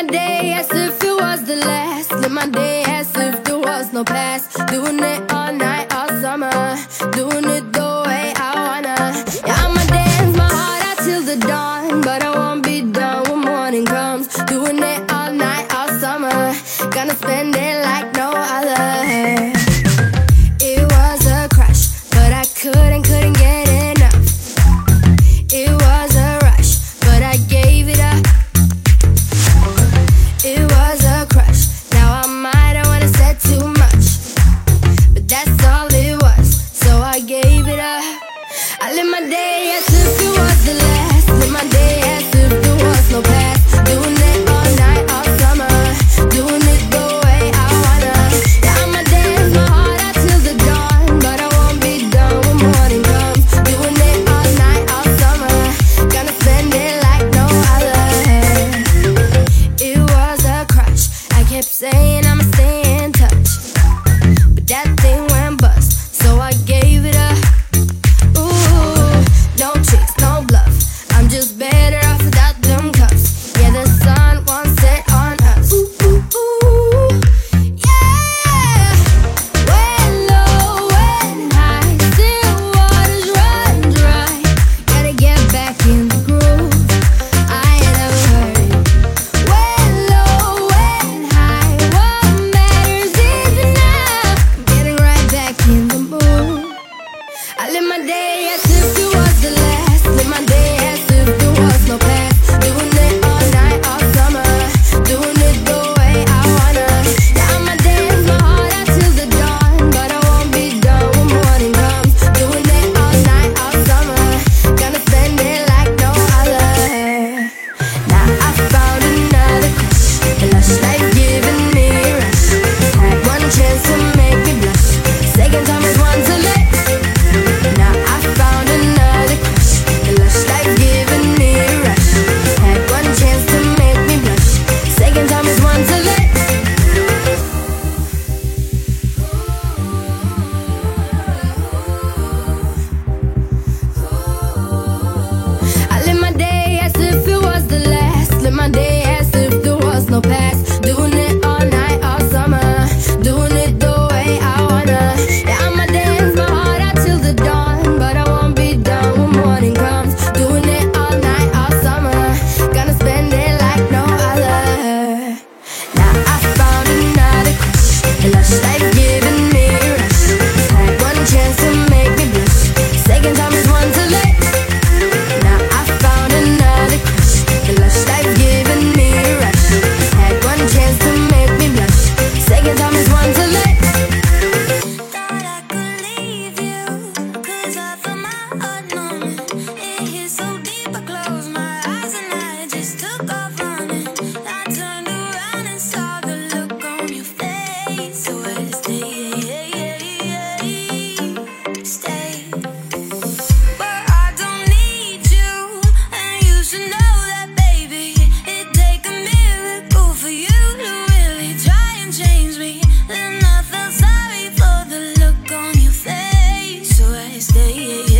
day as if it was the last. Live my day as if there was no past. Doing it all night, all summer. Doing it the way I wanna. Yeah, I'ma dance my heart out till the dawn, but I won't be done when morning comes. Doing it all night, all summer. Gonna spend it like no other. It was a crush, but I couldn't get enough. It was a rush, but I gave it up. It was a crush, now I might have wanna said too much, but that's all it was, so I gave it up. I live my day as if it was the last. Live my day as if there was no past. Doing it all night, all summer. Doing it the way I wanna. Yeah, I'ma dance my heart out till the dawn, but I won't be done when morning comes. Doing it all night, all summer. Gonna spend it like no other. It was a crush, I kept saying I'ma stay in touch, but that thing went bust, so I gave it up. Ooh, no tricks, no bluff, I'm just better off without them cuffs. Yeah, the sun won't set on us. Ooh, ooh, ooh, yeah. When low, when high, still waters run dry. Gotta get back in the groove, I ain't never heard. When low, when high, what matters is enough. Getting right back in the mood. I live my day as if it was the last. Live my day as if there was no past. Doing it all night, all summer. Doing it the way I wanna. Yeah, I'ma dance my heart out till the dawn, but I won't be done when morning comes. Doing it all night, all summer. Gonna spend it like no other. Now I found another crush. The lush life giving me a rush. Had one chance to make me blush. Second time is one to let. Now I found another crush. The lush life giving me a rush. Had one chance to make me blush. Second time is one to let. I live my day as if it was the last. Live my day as if there was no past. Doing it all night, all summer. Doing it the way I wanna. Yeah, I'ma dance my heart out till the dawn, but I won't be done when morning comes. Doing it all night, all summer. Gonna spend it like no other. Now I found another crush. The lush life giving me a rush. Had one chance to make me blush. Second time is one to let. Now I found another crush. The lush life giving me a rush. Had one chance to make me blush. Second time is one to let. Thought I could leave you, 'cause I felt my heart numbing. It hit so deep, I closed my eyes and I just took off running. I turned around and saw the look on your face. So I stay. But I don't need you, and you should know that, baby. It'd take a miracle for you to really try and change me. Then I felt sorry for the look on your face. So I stay.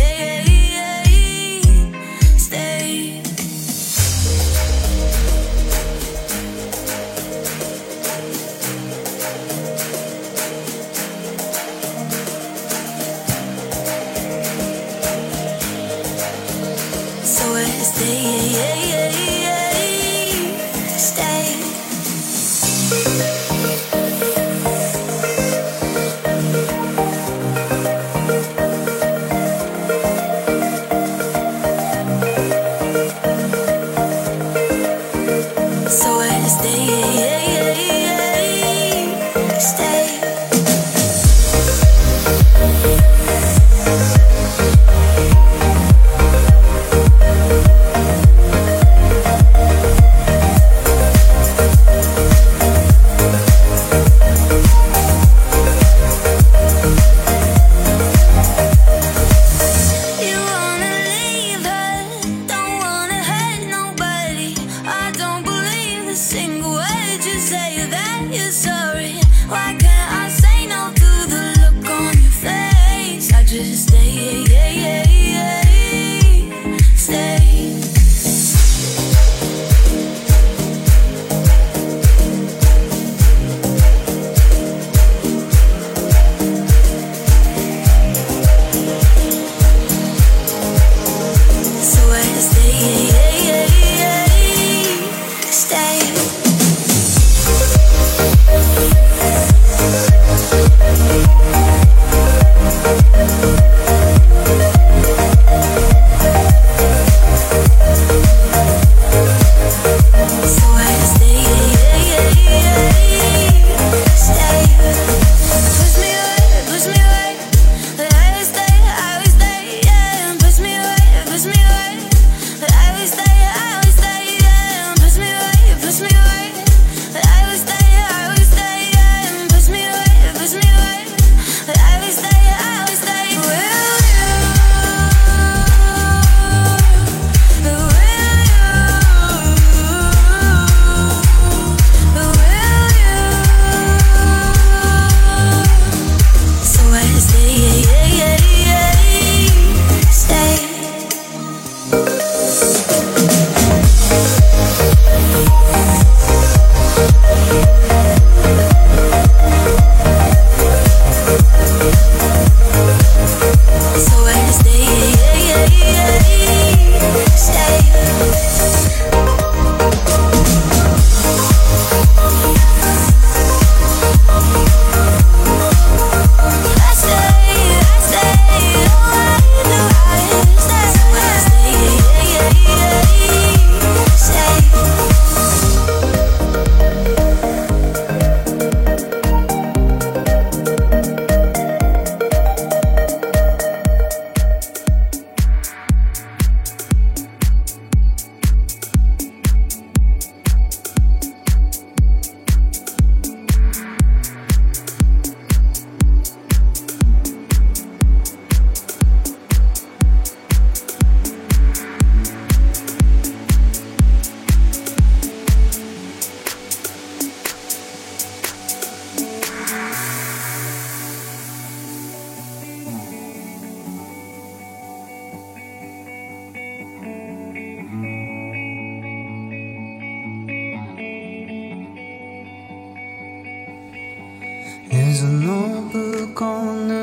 So I stay. So I stay.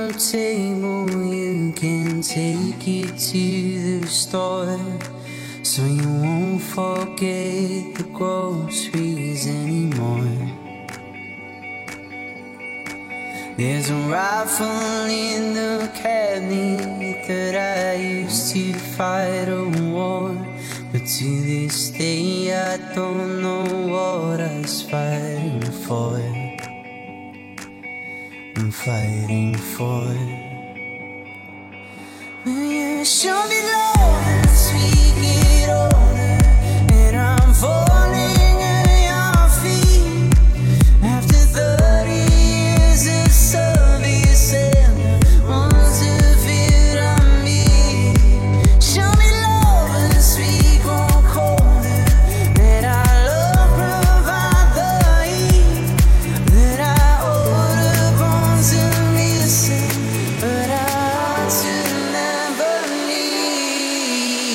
the table, you can take it to the store, so you won't forget the groceries anymore. There's a rifle in the cabinet that I used to fight a war, but to this day I don't know what I was fighting for. I'm fighting for. Will you show me love as we get older, and I'm falling at your feet after 30 years of service and the ones of it on me. Show me love as we grow colder, that our love provide the heat, that our older bonds are missing, but our hearts will never leave.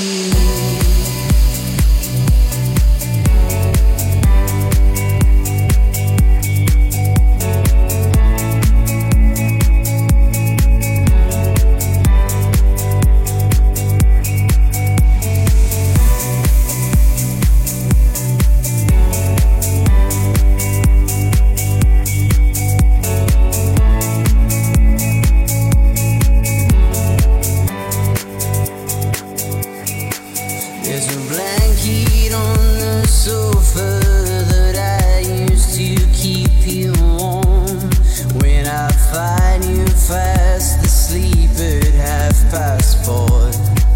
There's a blanket on the sofa that I used to keep you warm. When I find you fast asleep at 4:30.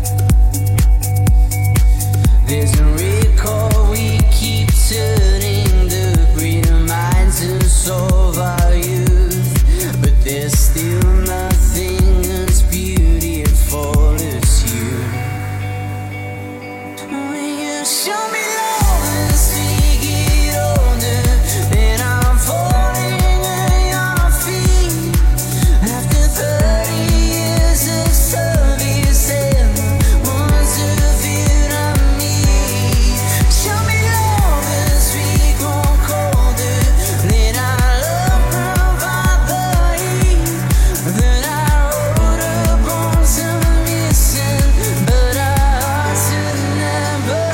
There's a record we keep turning, the greater minds to solve our youth, but there's still nothing as beautiful as you. Will you show me love as we get older, and I'm falling at your feet after 30 years of service and the ones of it on me. Show me love as we grow colder, let our love provide the heat, that our older bonds are missing, but our hearts will never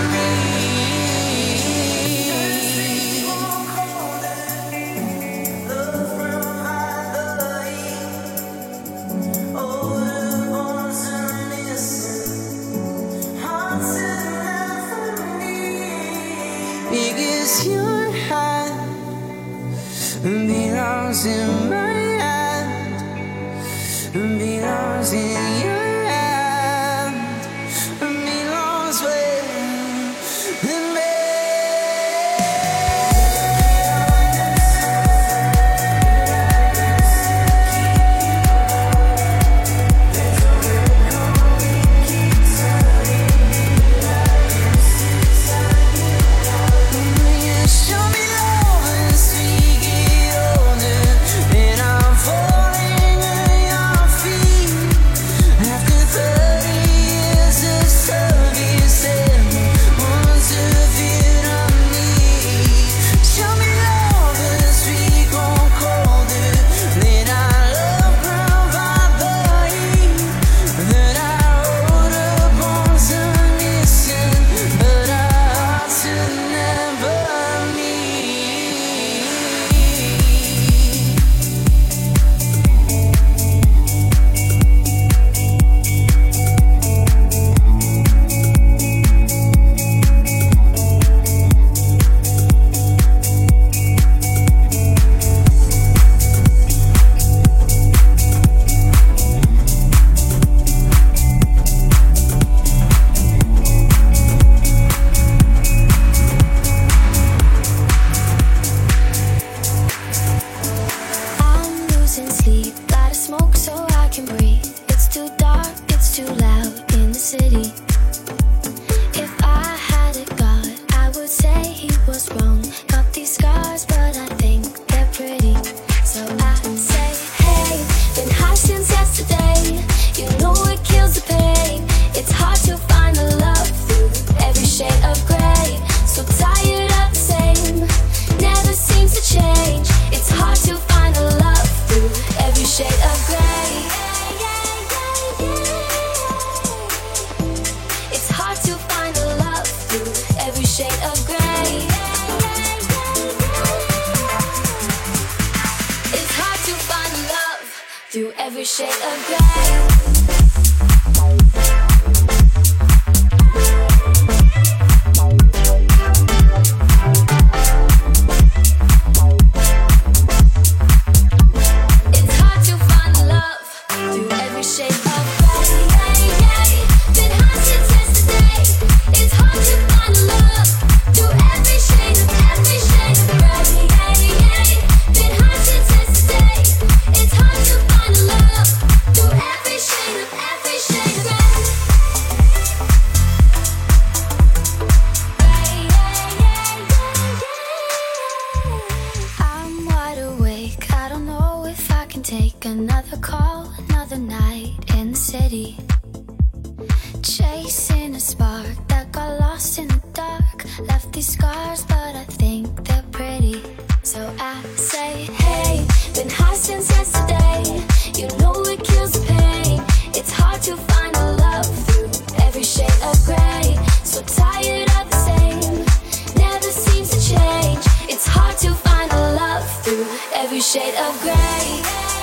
because your hand belongs in my hand, belongs in your hand, belongs with me. Will you show me love as we get older, and I'm falling at your feet every shade of gray. Another call, another night in the city, chasing a spark that got lost in the dark. Left these scars, but I think they're pretty. So I say, hey, been high since yesterday. You know it kills the pain. It's hard to find a love through every shade of gray. So tired of the same, never seems to change. It's hard to find a love through every shade of gray.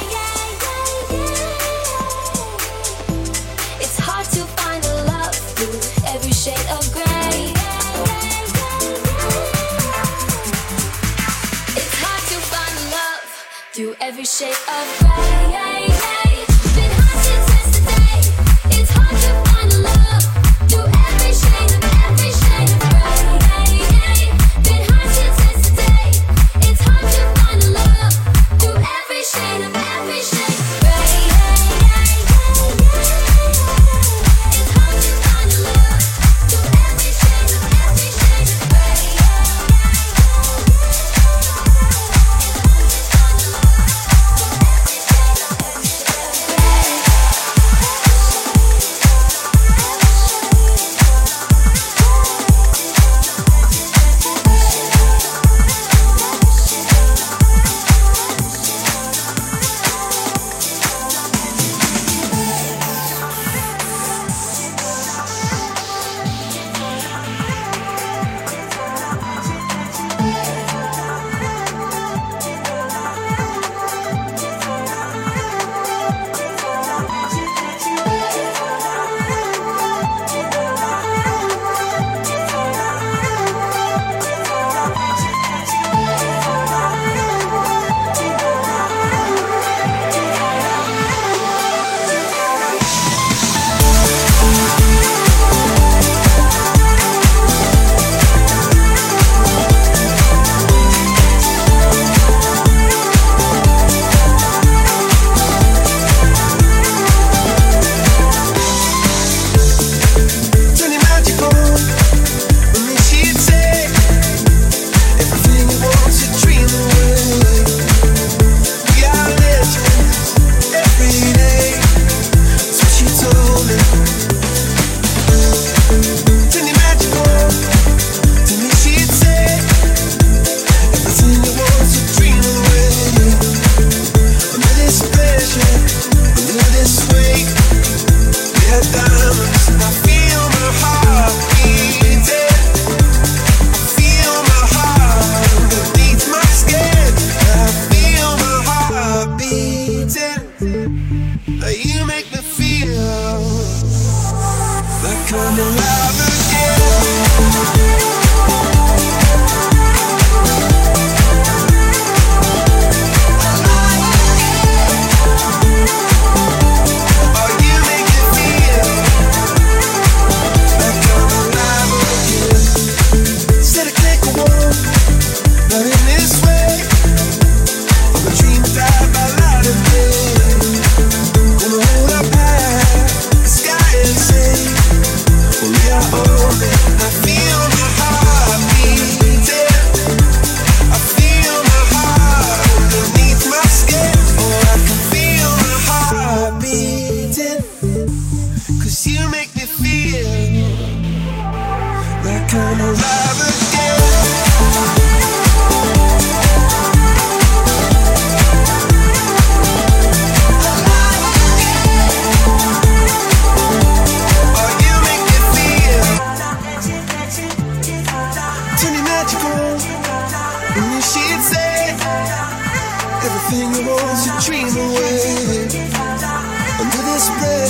Every shade of gray. It's hard to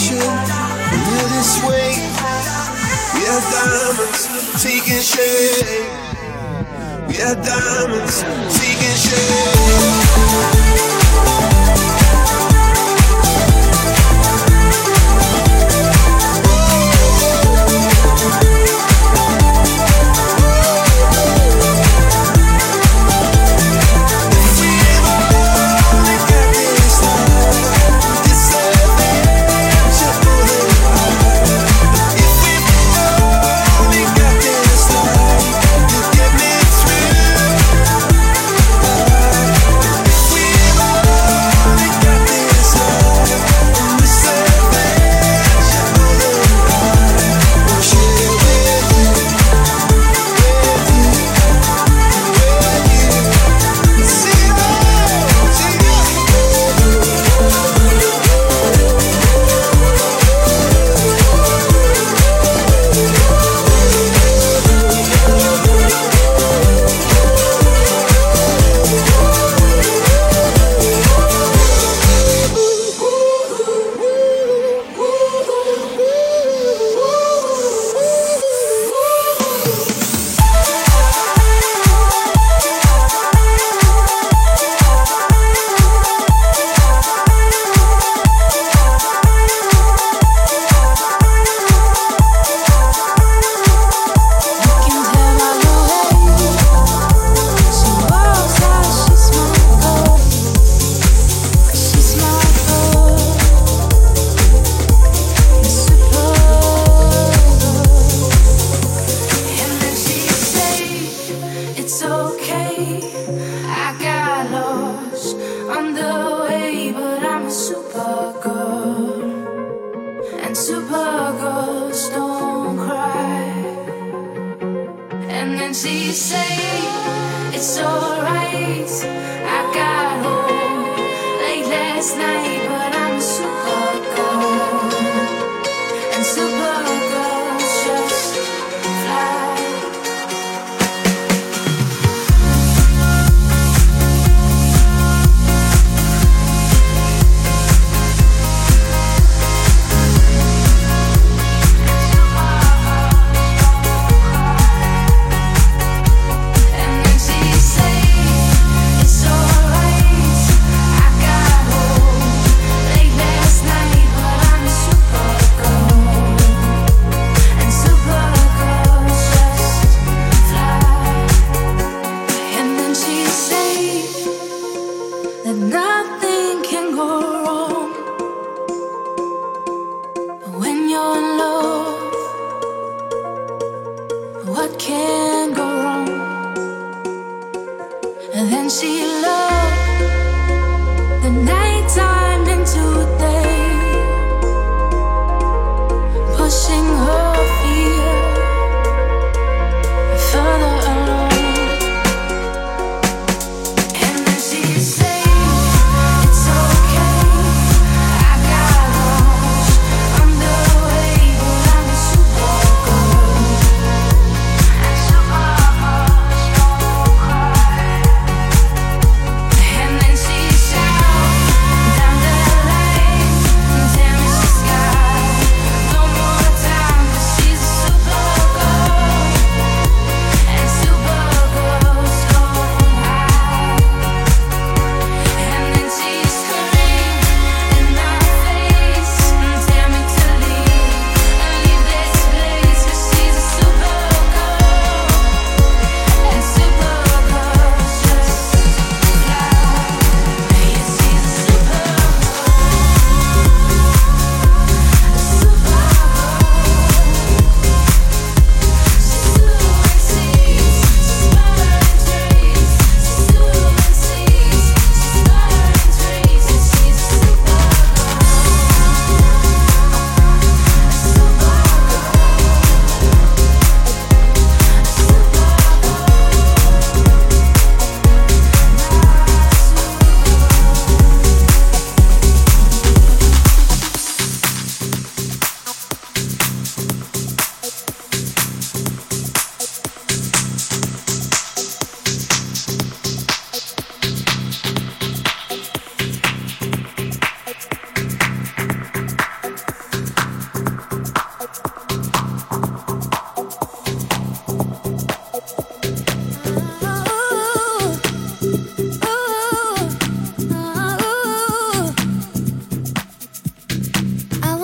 ocean. We're this way. We are diamonds taking shape. We are diamonds taking shape.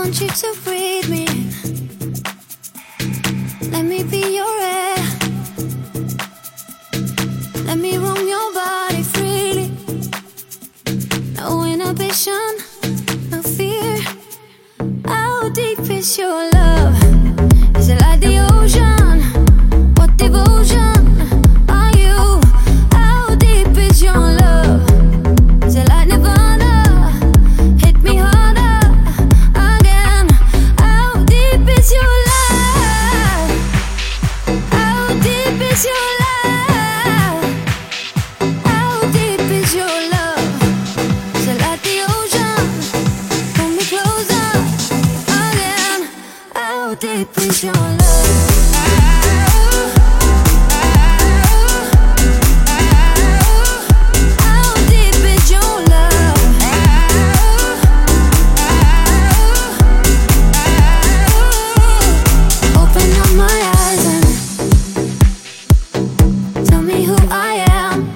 want you to breathe me in. Let me be your air. Let me roam your body freely. No inhibition, no fear. How deep is your love? Is it like the ocean? What devotion are you? How deep is your love? Is it like Nirvana? Hit me harder again. How deep is your love? How deep is your love? How deep is your love? Is it like the ocean? Pull me closer again. How deep is your love? How deep is your love? Open up my eyes and tell me who I am.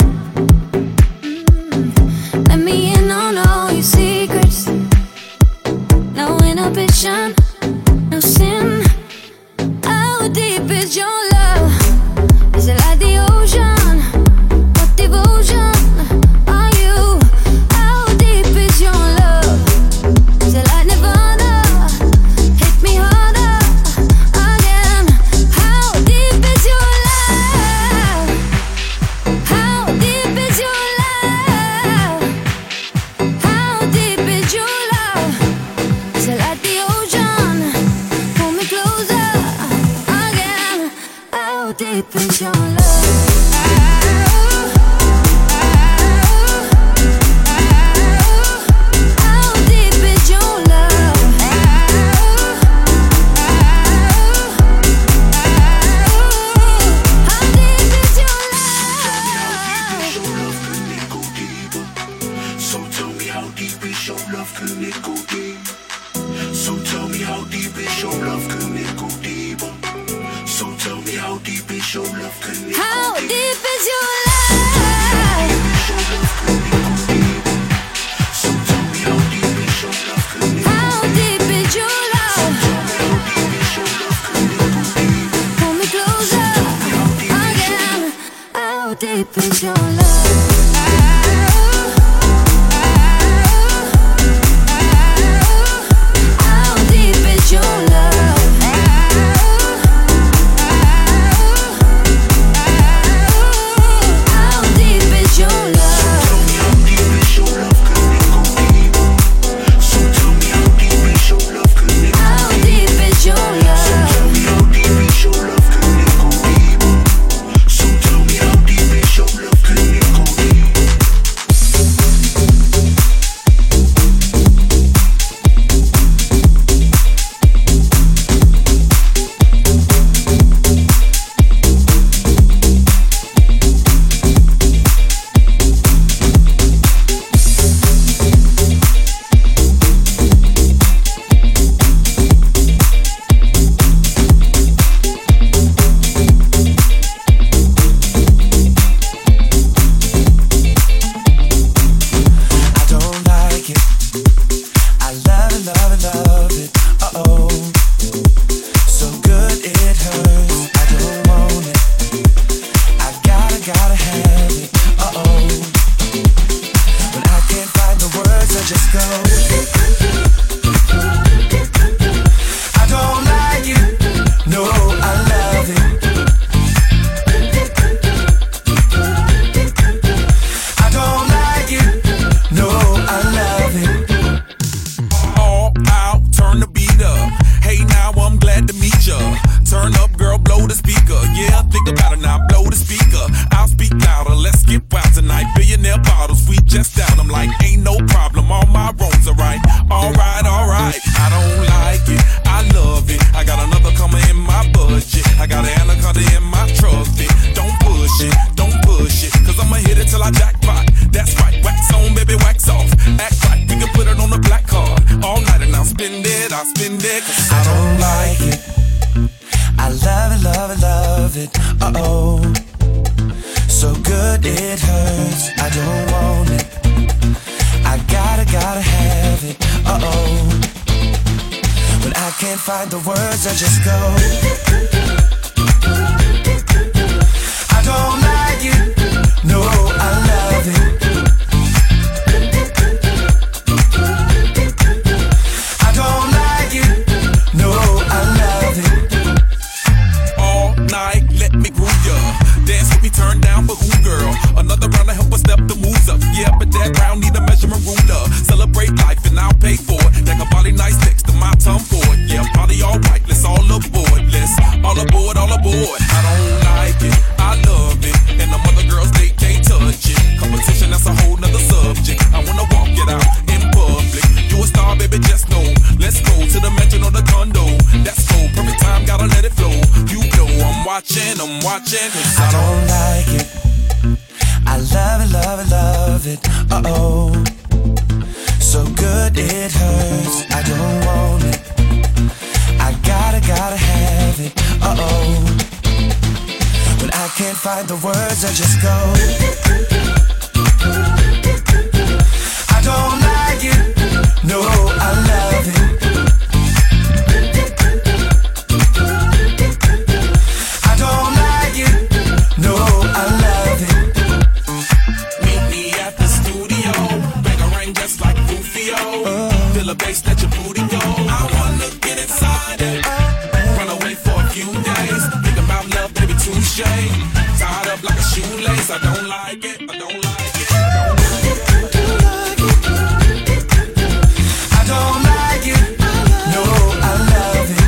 Let me in on all your secrets. No inhibition, no sin. How deep is your love? Is it like the ocean? What devotion are you? How deep is your love? Is it like Nirvana? Hit me harder again. How deep is your love? How deep is your love? How deep is your love? Is it like the ocean? Pull me closer again. How deep is your love? How deep is your love? How deep is your love? So tell me how deep is your love, can it go deep? So tell me how deep is your love, can it go deeper? So tell me how deep is your love, can it How go deep deep? is your love? So tell me how deep is your love, can it go How deep is your love? How deep is your love, can it go deep? Pull me closer again. How deep is your love? How deep is your love? How deep is your love? Tell me how deep is your love, can it go deep? So tell me how deep is your love, can it go How deep is your Tell love? me how deep is your love, can it go deep? So tell me how deep is your love, can it go deep? I don't like it. I love it, love it, love it. Uh-oh. So good it hurts. I don't want it. I gotta have it. Uh-oh. When I can't find the words, I just go. I don't like it. No, I love it. I don't like it. No, I love it. All out, turn the beat up. Hey, now I'm glad to meet ya. Turn up, girl, blow the speaker. Yeah, think about it now, blow the speaker. I'll speak louder, let's get wild tonight. Billionaire bottles, we just down. I'm like, ain't no problem, all my roads are right. Alright, alright. I don't like it, I love it. I got another coming in my budget. I got an anaconda in my trusty. Don't push it, cause I'ma hit it till I jackpot. That's right, wax on, baby, wax off. Act right, we can put it on the black card. All night and I'll spend it, cause I don't like it. I love it, love it, love it. Uh-oh. So good it hurts. I don't want it. I gotta have it. Uh-oh. can't find the words, I just go. I don't like it, no, I love it. I don't like it, no, I love it. All night, let me groove ya. Dance with me, turn down for who, girl? Another round to help us step the moves up. Yeah, but that round need a measurement ruler. Celebrate life and I'll pay for it. Like a body nice next to my tongue for it. Yeah, party all right, let's all aboard. Let's all aboard, all aboard. I don't like it, I love it. And them other girls, they can't touch it. Competition, that's a whole nother subject. I wanna walk it out in public. You a star, baby, just know. Let's go to the mansion or the condo. That's cool, perfect time, gotta let it flow. You know I'm watching, cause I don't like it. I love it, love it, love it. Uh-oh. So good it hurts. I don't want it. I gotta have it. Uh-oh. When I can't find the words, I just go. I don't like it. No, I love it. I don't like it. No, I love it. meet me at the studio. Bang a ring just like Rufio. Feel a bass, let your booty go. I wanna get inside it. Run away for a few days. Think about love, baby, touche. Tied up like a shoelace. I don't like it. I don't like it. I don't like it. No, I love it.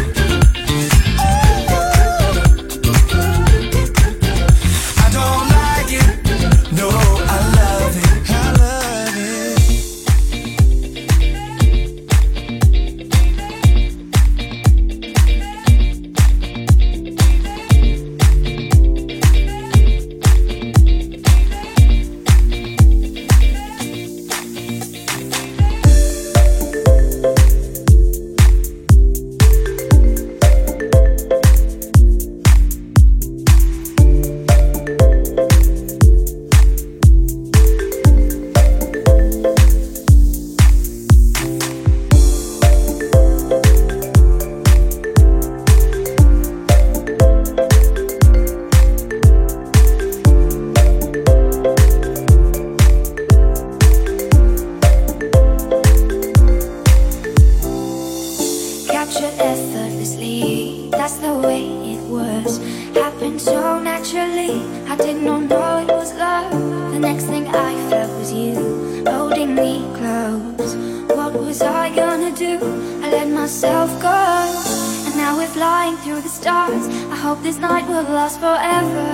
I don't like it. No, I love it. I love it. Captured effortlessly, that's the way it was. Happened so naturally, I did not know it was love. The next thing I felt was you, holding me close. What was I gonna do? I let myself go. And now we're flying through the stars. I hope this night will last forever.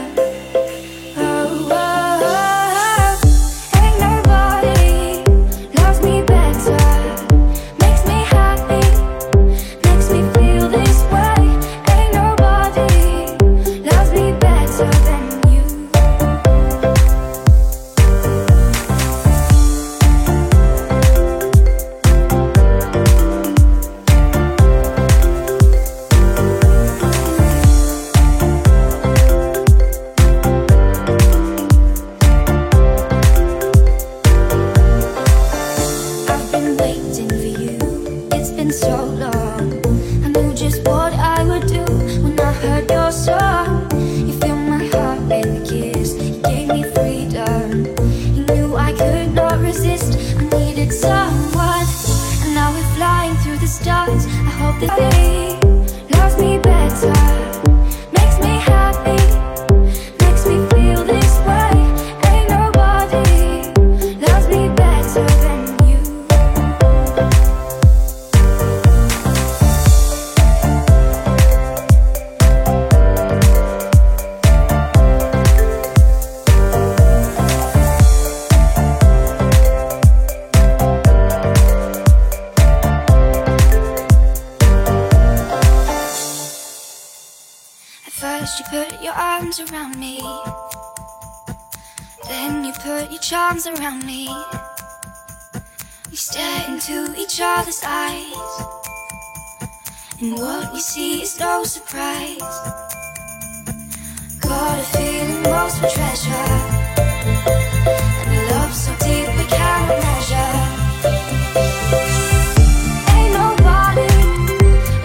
Oh, oh, oh. Ain't nobody loves me better. Makes me happy, makes me feel this way. Ain't nobody loves me better than you. I've been waiting for you, it's been so long. I knew just what I would do when I heard your song. You filled my heart with a kiss, you gave me freedom. You knew I could not resist, I needed someone. And now we're flying through the stars. I hope that they loves me better. Makes me happy, makes me feel this way. Ain't nobody loves me better than you. At first you put your arms around me, then you put your charms around me. We stare into each other's eyes, and what we see is no surprise. Got a feeling most for treasure, and a love so deep we cannot measure. Ain't nobody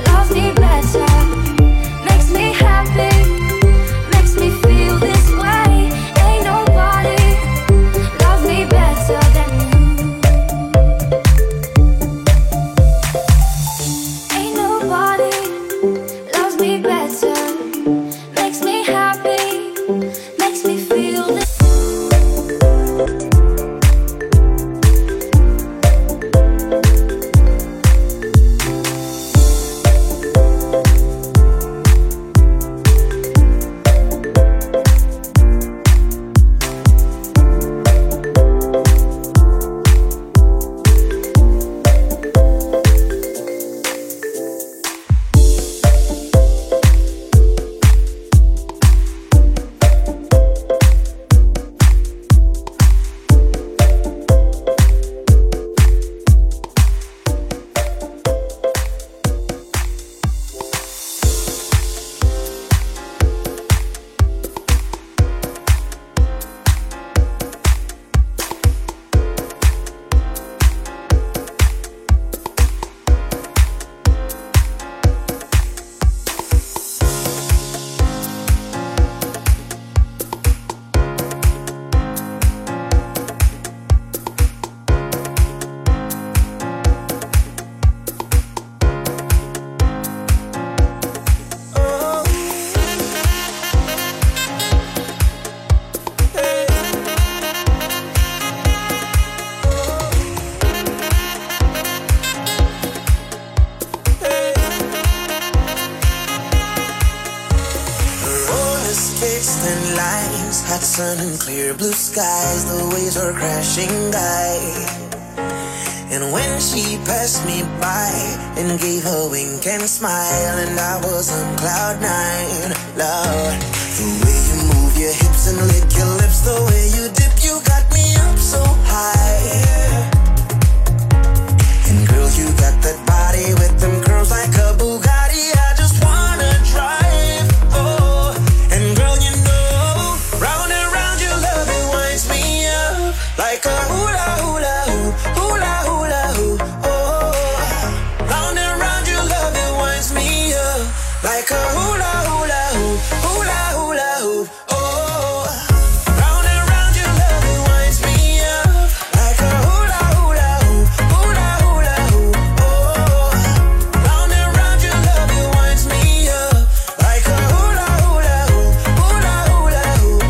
sun and clear blue skies, the waves were crashing by. And when she passed me by and gave a wink and smile, and I was on cloud nine, Lord. The way you move your hips and lick your lips, the way you dip, you got me up so high. And girl, you got that body with them curls like a Bugatti. I just wanna drive, oh. And girl, you know, round and round your love, it winds me up like a hula hula hoop, hula hula hoop, oh. Round and round your love, it winds me up like a hula hula hoop, hula hula hoop, oh. Round and round your love, it winds me up like a hula hula hoop, hula hula hoop, oh. Round and round your love, it winds me up like a hula hula hoop, hula hula hoop,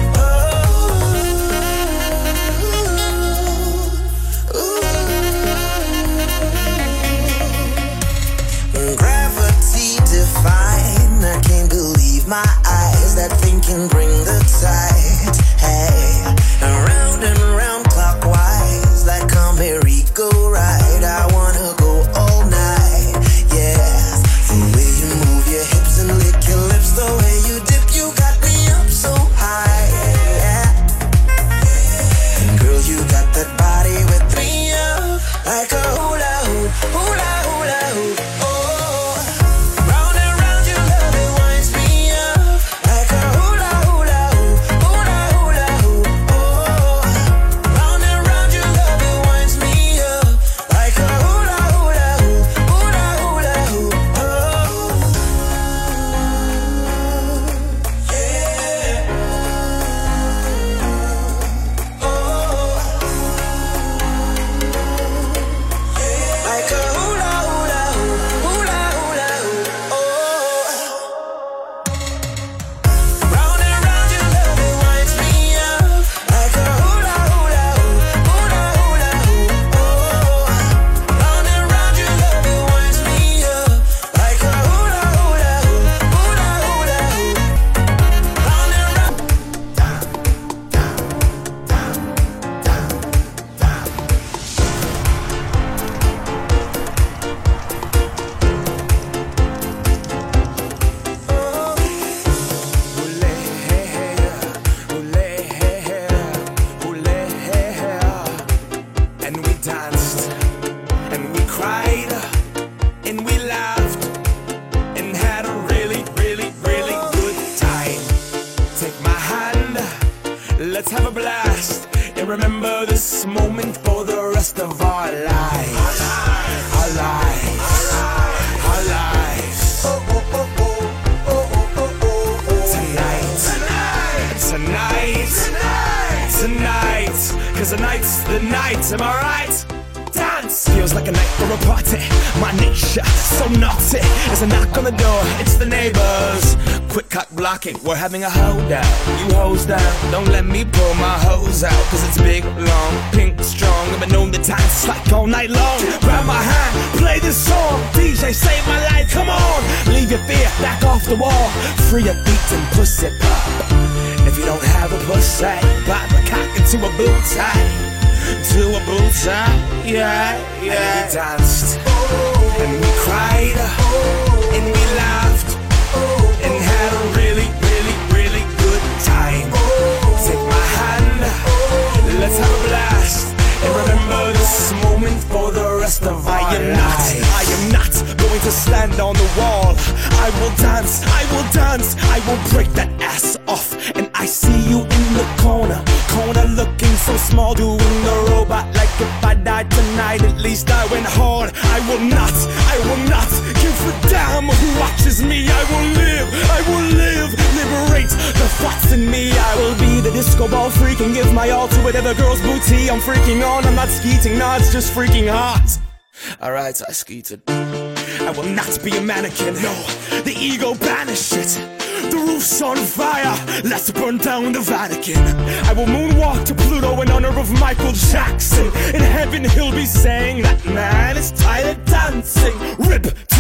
oh. Gravity define, I can't believe my eyes. That thing can bring the tide. Hey, around and round clockwise, like a merry-go-ride. I wanna go all night, yeah. The way you move your hips and lick your lips, the way you dip, you got me up so high, yeah. And girl, you got that body with me up like a hula hoop, hula hula hoop, oh. Round and round your love, it winds me up like a hula hula hoop, hula hula hoop, oh. Round and round your love, it winds me up like a hula hula hoop, hula hula hoop, oh. Yeah. Oh. Like a hula hula hoop, hula hula hoop, oh. Round and round your love, it winds me up like a hula hula hoop, hula hula hoop, oh. Round and round your love, it winds me up like a hula hula hoop, hula hula hoop. Round and round. And we danced, and we cried, and we laughed, and had a really, really, really good time. Take my hand, let's have a blast, and remember this moment for the rest of our lives. Our lives. Our lives. Tonight, cause tonight's the night, am I right? Dance feels like a night for a party. My nature, so naughty. There's a knock on the door, it's the neighbors. Quick cock blocking, we're having a holdout. You hose down, don't let me pull my hose out. Cause it's big, long, pink, strong. I've been known to dance like all night long. Grab my hand, play this song. DJ, save my life, come on. Leave your fear, back off the wall. Free your feet and pussy pop. If you don't have a pussy, pop a cock into a bow tie. To a bow tie, yeah, yeah. And we danced, and we cried, and we laughed, and had a really, really, really good time. Take my hand, let's have a blast, and remember this moment for the rest of our lives. I am not going to stand on the wall. I will dance, I will dance, I will break that ass off. And I see you in the corner looking so small, doing the robot like if I died tonight, at least I went hard. I will not give a damn who watches me. I will live, liberate the thoughts in me. I will be the disco ball freak and give my all to whatever girl's booty I'm freaking on. I'm not skeeting, no, it's just freaking hot. Alright, I skeeted. I will not be a mannequin, no, the ego banish it. The roof's on fire, let's burn down the Vatican. I will moonwalk to Pluto in honor of Michael Jackson. In heaven he'll be saying that man is tired of dancing. Rip to the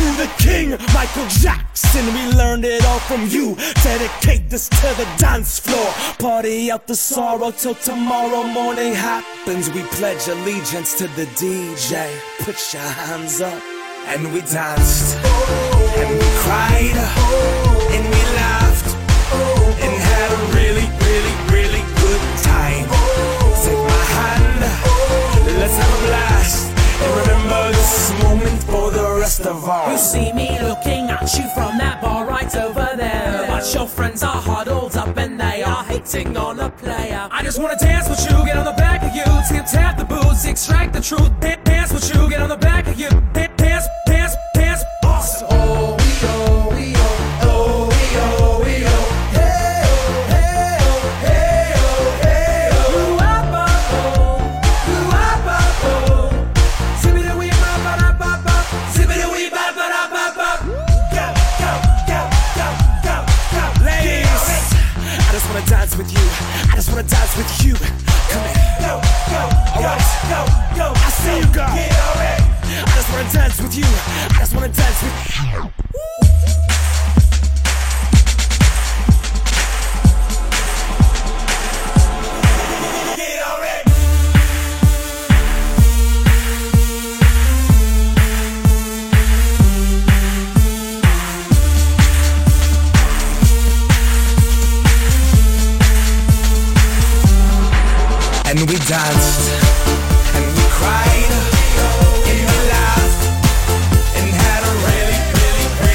King Michael Jackson, we learned it all from you. Dedicate this to the dance floor. Party out the sorrow till tomorrow morning happens. We pledge allegiance to the DJ. Put your hands up. And we danced, and we cried, and we laughed, and had a really, really, really good time. Take my hand, let's have a blast, and remember this moment for the rest of our. You see me looking at you from that bar right over there, but your friends are huddled up and they are hating on a player. I just wanna dance with you, get on the back of you, tip tap the boots, extract the truth. Dance with you, get on the back of you, dance, dance, dance, awesome. Oh, we oh, we oh, oh, we oh, we oh, hey oh, hey oh, hey oh, hey oh. Ooh-ah-ba, oh, ooh-ah-ba, oh. Zippity-wee-ba-ba-da-ba-ba, zippity-wee-ba-ba-da-ba-ba. Go, go, go, go, go, go. Ladies, I just wanna dance with you. I just wanna dance with you. Come in. Go, go, Alright, go, go. I see you go. Get already. I just wanna dance with you. I just wanna dance with you. Get already. And we danced, and we cried, and we laughed, and had a really, really,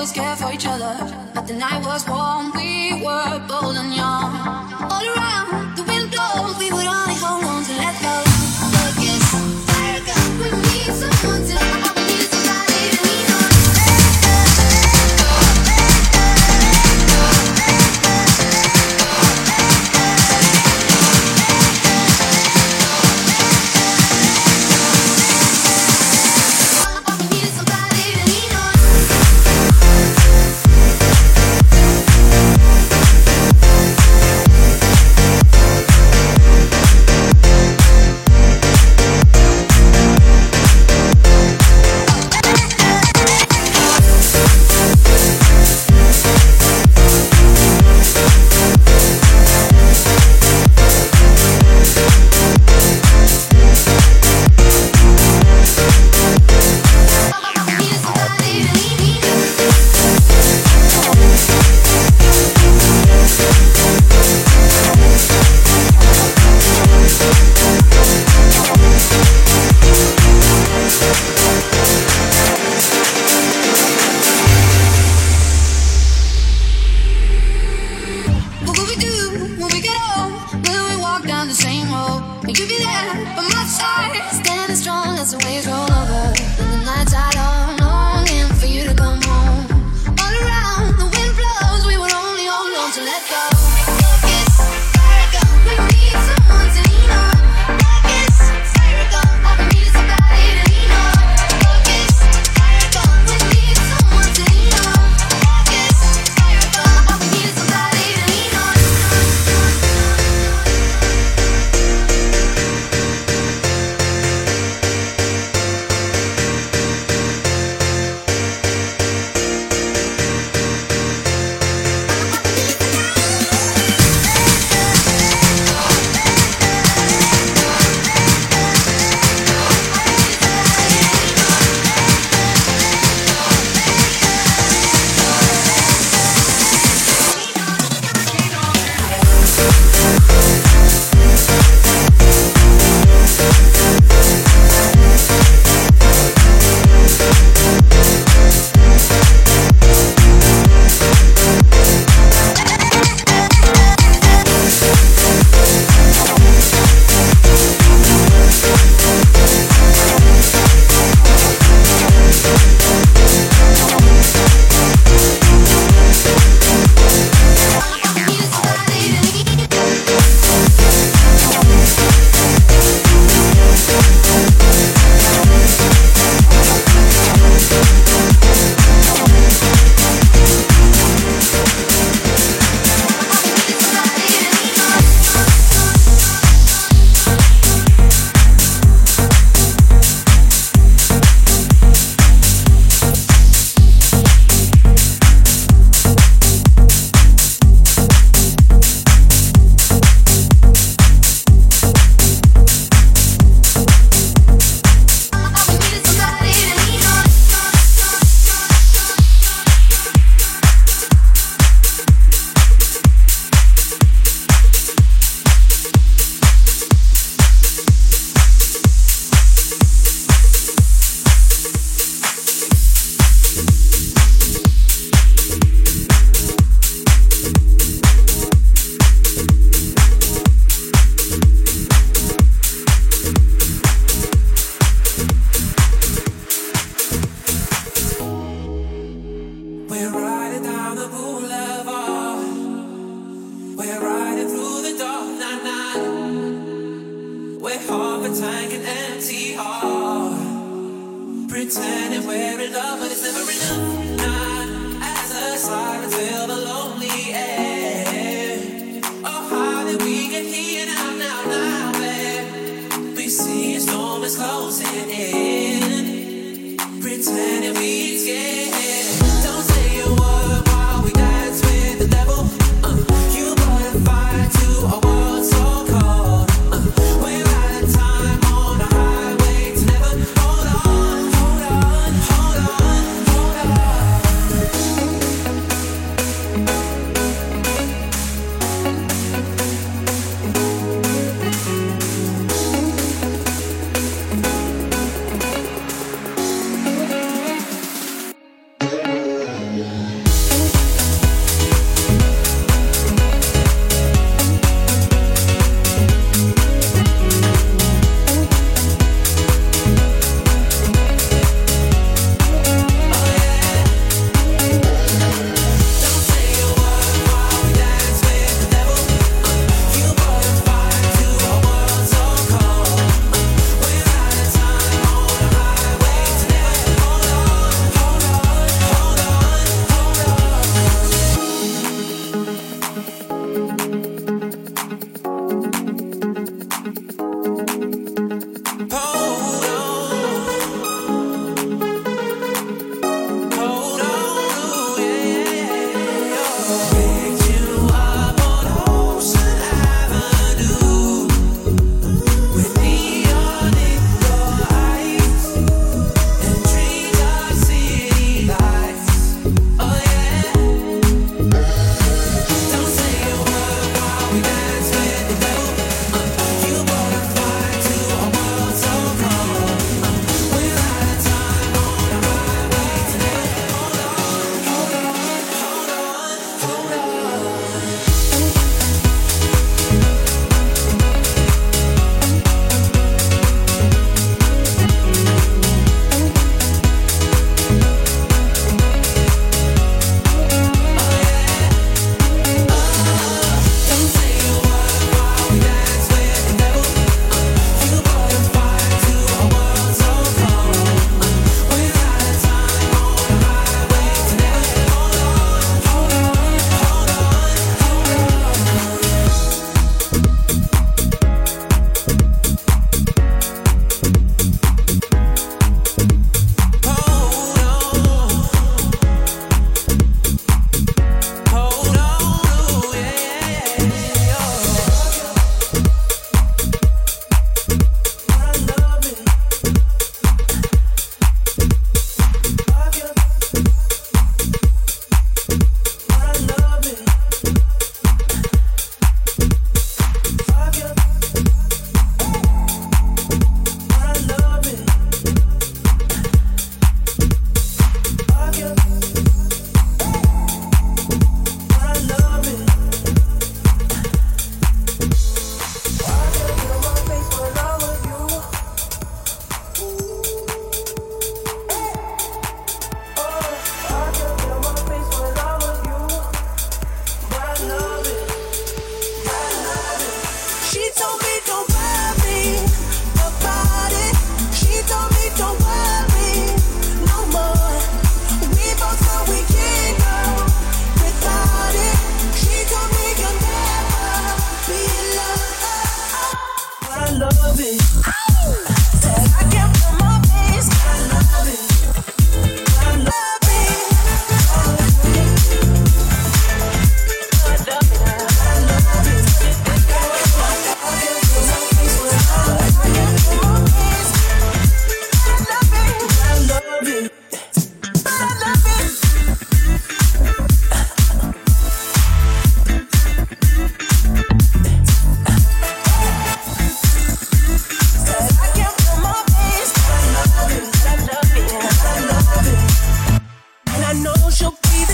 was scared for each other, but the night was warm. We were bold and young. All around, the wind blows. We would only hold on to let go. Look, it's fire gun. We need someone to love. We need somebody to lean on.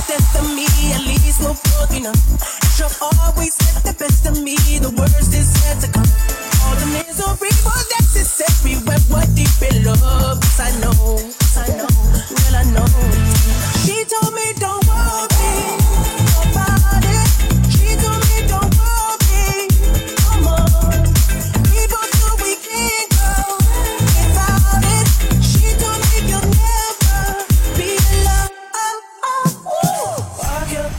the death of me, at least we're broken up. She'll always get the best of me, the worst is yet to come. All the misery was necessary when we're deep in love. 'Cause I know, well I know. She told me don't worry about it. She told me don't worry no more. We both know we can't go without it. She told me you'll never be alone. Fuck you,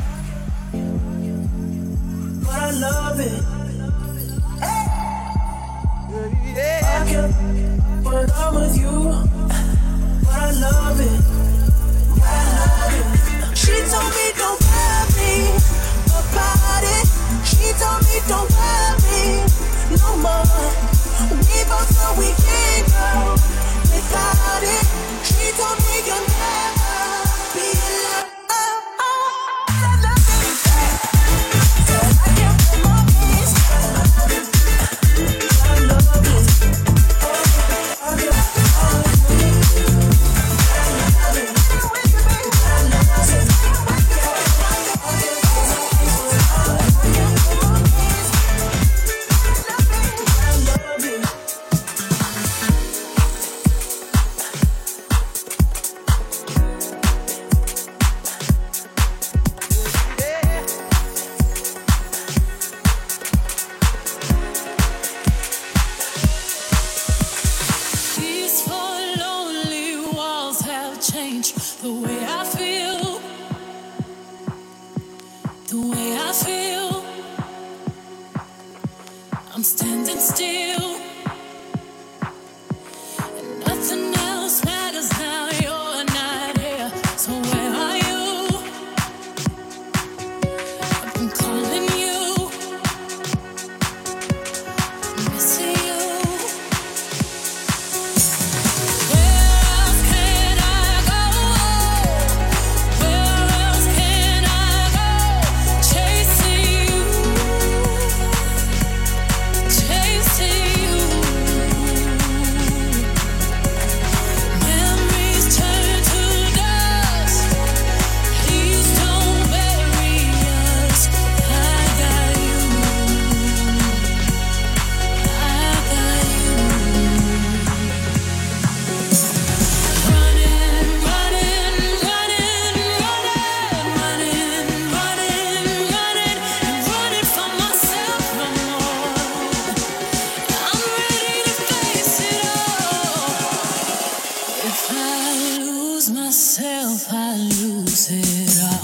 but I love it. Fuck you, but I'm with you. But I love it. She told me don't worry about it. She told me don't worry no more. We both know we can't go without it. She told me you'll never be alone. I love it. So I can't put my hands down. I love it. These four lonely walls have changed the way I feel. The way I feel. I'm standing still. And nothing else matters now. You're not here. So where are you? I've been calling you. Missing you. Where else can I go? Where else can I go? Chasing you, chasing you. Memories turn to dust. Please don't bury us. I got you. I got you. Running, running, running, running, running, running, running, and running from myself no more. I'm ready to face it all. If I lose myself, I lose it all.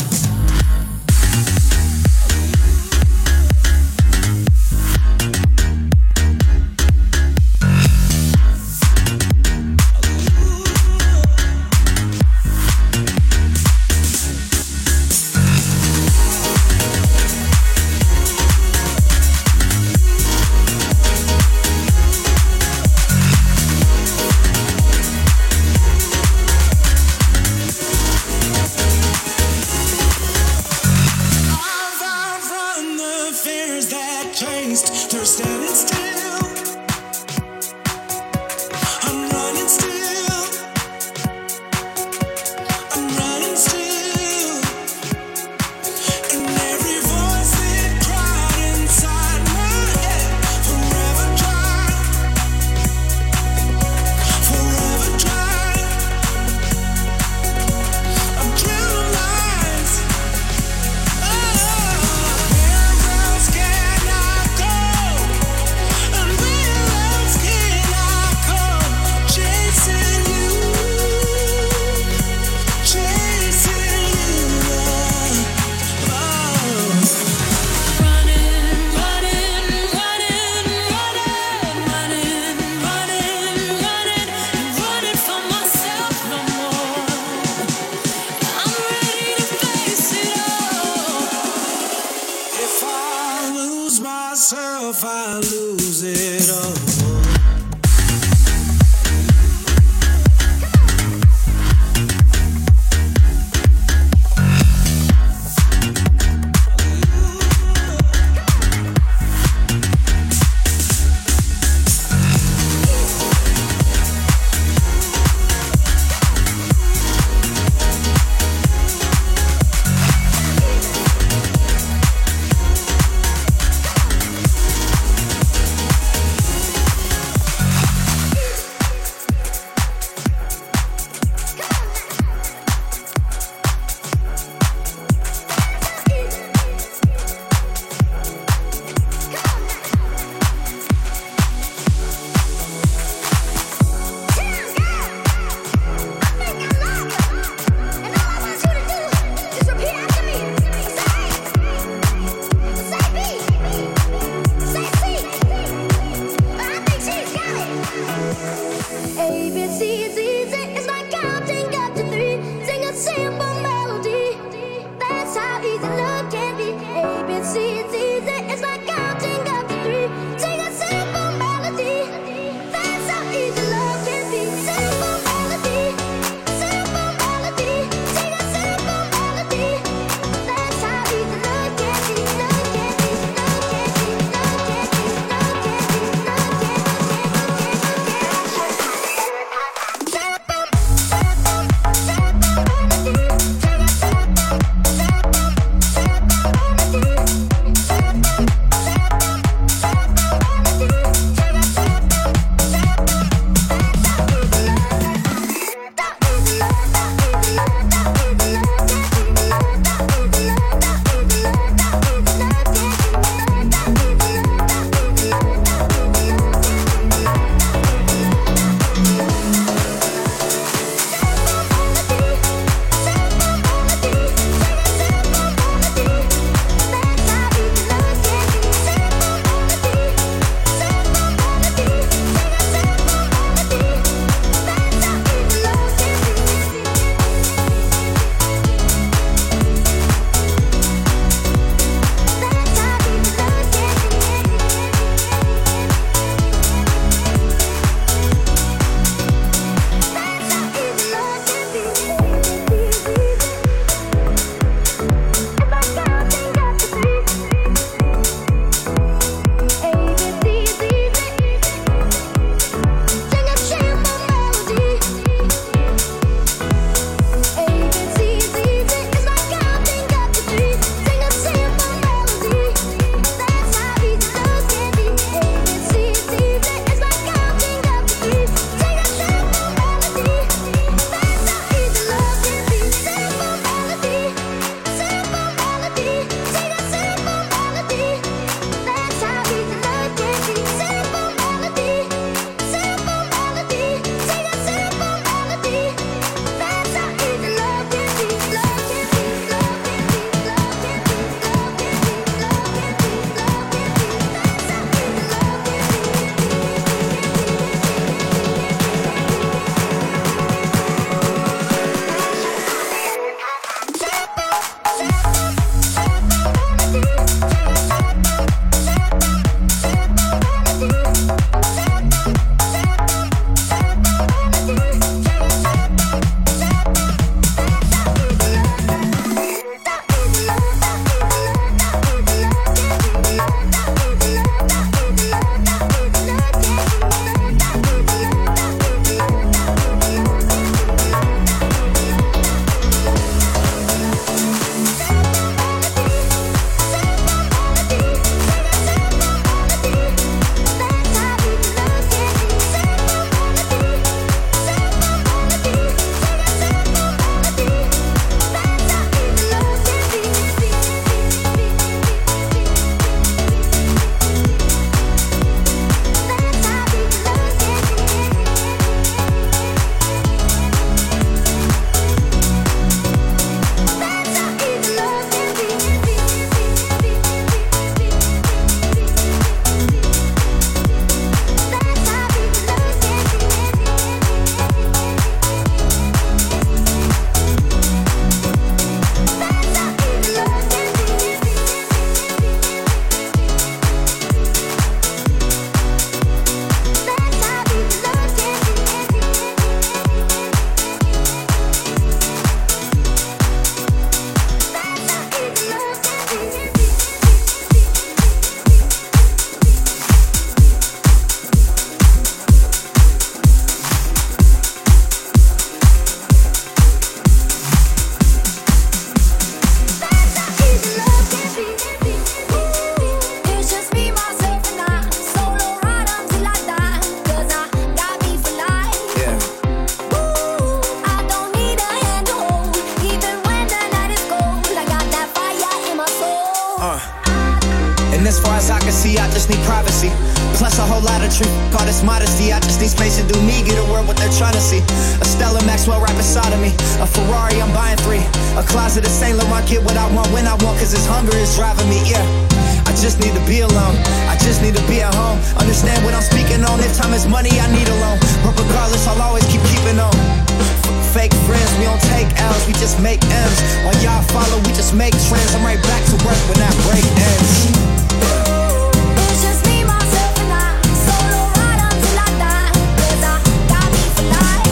whole lot of truth. Call this modesty, I just need space to do me. Get a word what they're trying to see. A Stella Maxwell right beside of me. A Ferrari, I'm buying 3. A closet of Saint Laurent, get what I want when I want, cause this hunger is driving me, yeah. I just need to be alone, I just need to be at home. Understand what I'm speaking on, if time is money, I need a loan. But regardless, I'll always keeping on. Fake friends, we don't take L's, we just make M's. While y'all follow, we just make trends. I'm right back to work when that break ends. It's just me, myself, and I. Solo ride until I die. 'Cause I got me for life.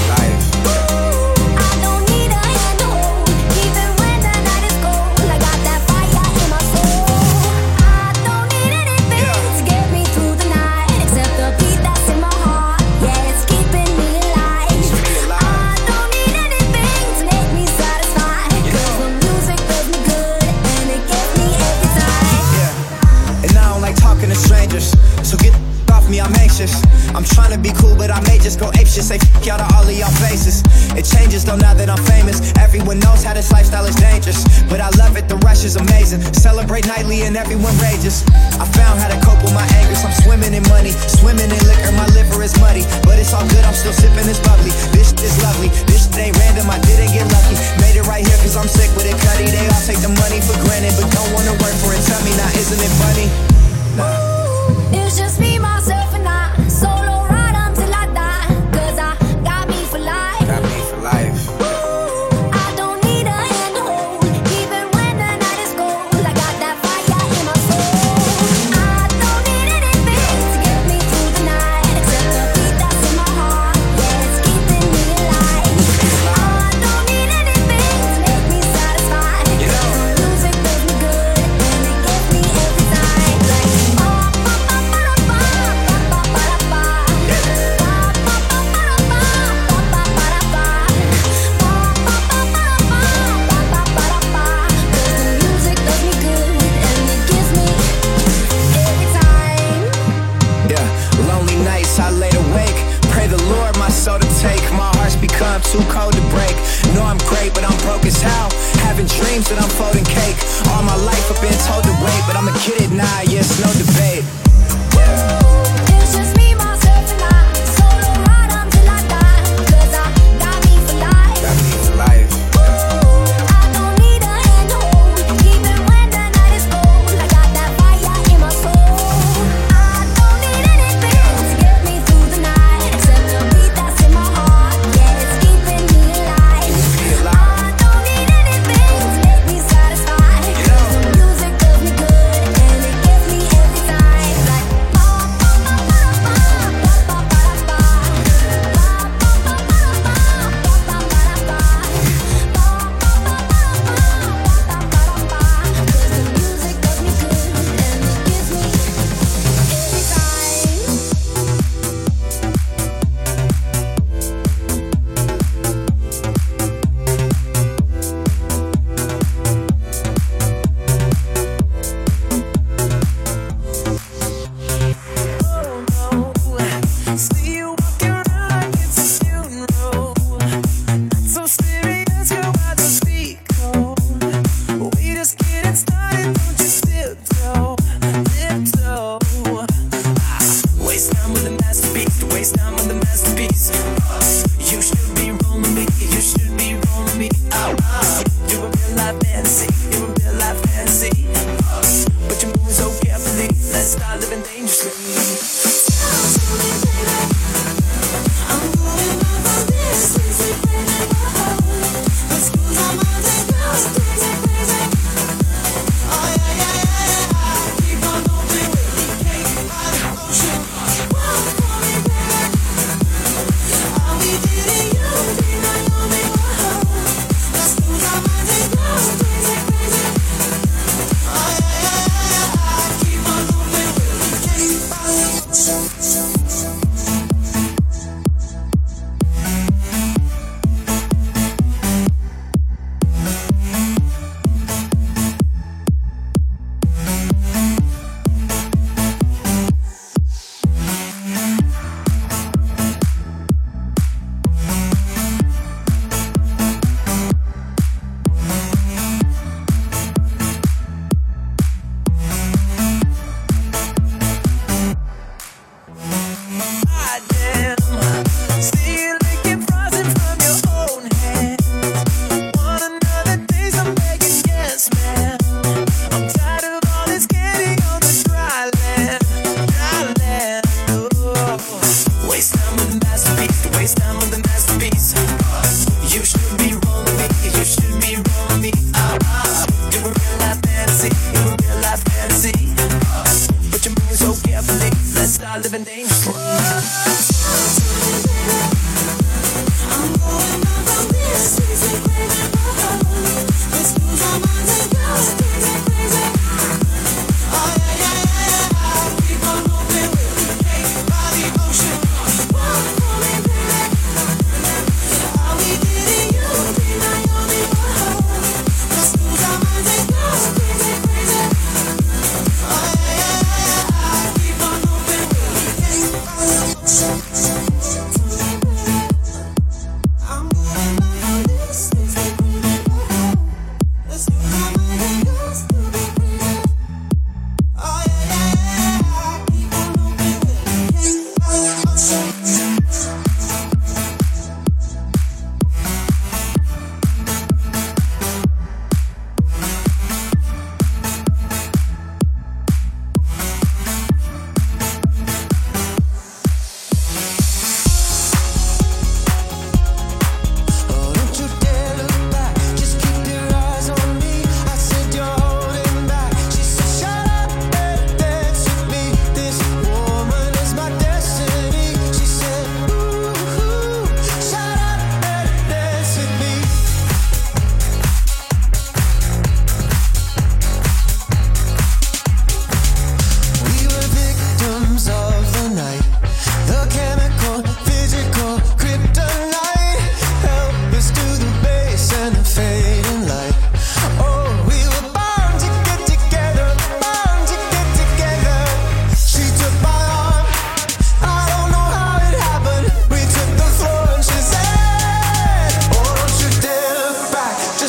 I don't need a hand to hold, even when the night is cold. I got that fire in my soul. I don't need anything to get me through the night, except the beat that's in my heart. Yeah, it's keeping me alive. I don't need anything to make me satisfied, 'cause the music does me good and it gets me every time. Yeah, and I don't like talking to strangers, so get off me, I'm anxious. I'm trying to be cool, but I may just go apeshit. Say f*** y'all to all of y'all faces. It changes though now that I'm famous. Everyone knows how this lifestyle is dangerous, but I love it, the rush is amazing. Celebrate nightly and everyone rages. I found how to cope with my angers. I'm swimming in money, swimming in liquor. My liver is muddy, but it's all good, I'm still sipping this bubbly. This shit is lovely, this shit ain't random, I didn't get lucky. Made it right here cause I'm sick with it, cutty. They all take the money for granted, but don't wanna work for it. Tell me now, isn't it funny? Nah. It's just me, myself, and I. Solo ride until I die. 'Cause I got me for life. Got me for life. I don't need a hand to hold, even when the night is cold. I got that fire in my soul. I don't need anything to get me through the night, except the beat that's in my heart. Yeah, it's keeping me alive. I don't need anything to make me satisfied, 'cause the music does me good and it gets me every time. Like, I laid awake, pray the Lord my soul to take. My heart's become too cold to break. Know I'm great, but I'm broke as hell. Having dreams that I'm folding cake. All my life I've been told to wait, but I'm a kid at 9, yes, no debate. it's just me, myself, and I. Solo ride until I die. 'Cause I got me for life. Got me for life. I don't need a hand to hold, even when the night is cold. I got that fire in my soul. I don't need anything to get me through the night, except the beat that's in my heart. Yeah, it's keeping me alive. I don't need anything to make me satisfied.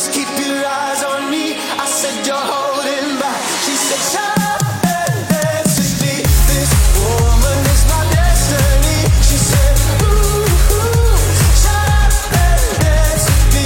just keep your eyes on me. I said you're holding back. She said shut up and dance with me. This woman is my destiny. She said ooh, ooh, shut up and dance with me.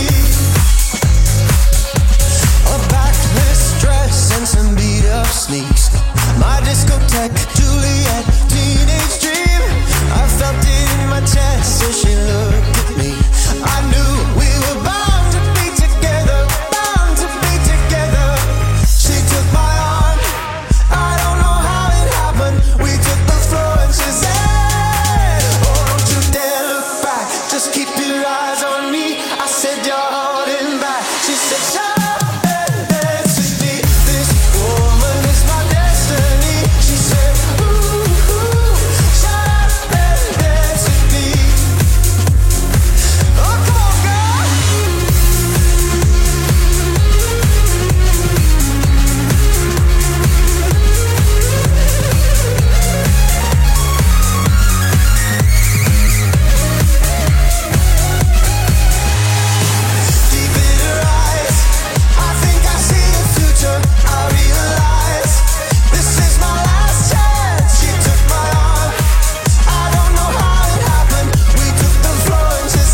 A backless dress and some beat up sneaks. My discotheque, Juliet, teenage dream. I felt it in my chest as she looked at me. I knew we were bound to be together, bound to be together. She took my arm, I don't know how it happened. We took the floor and she said, oh, don't you dare look back, just keep your eyes on me. I said you're holding back. She said shut up and dance with me. This woman is my destiny. She said ooh, ooh, shut up and dance with me. Oh, come on, girl. Deep in her eyes, I think I see the future. I realize this is my last chance. She took my arm, I don't know how it happened. We took the floor and she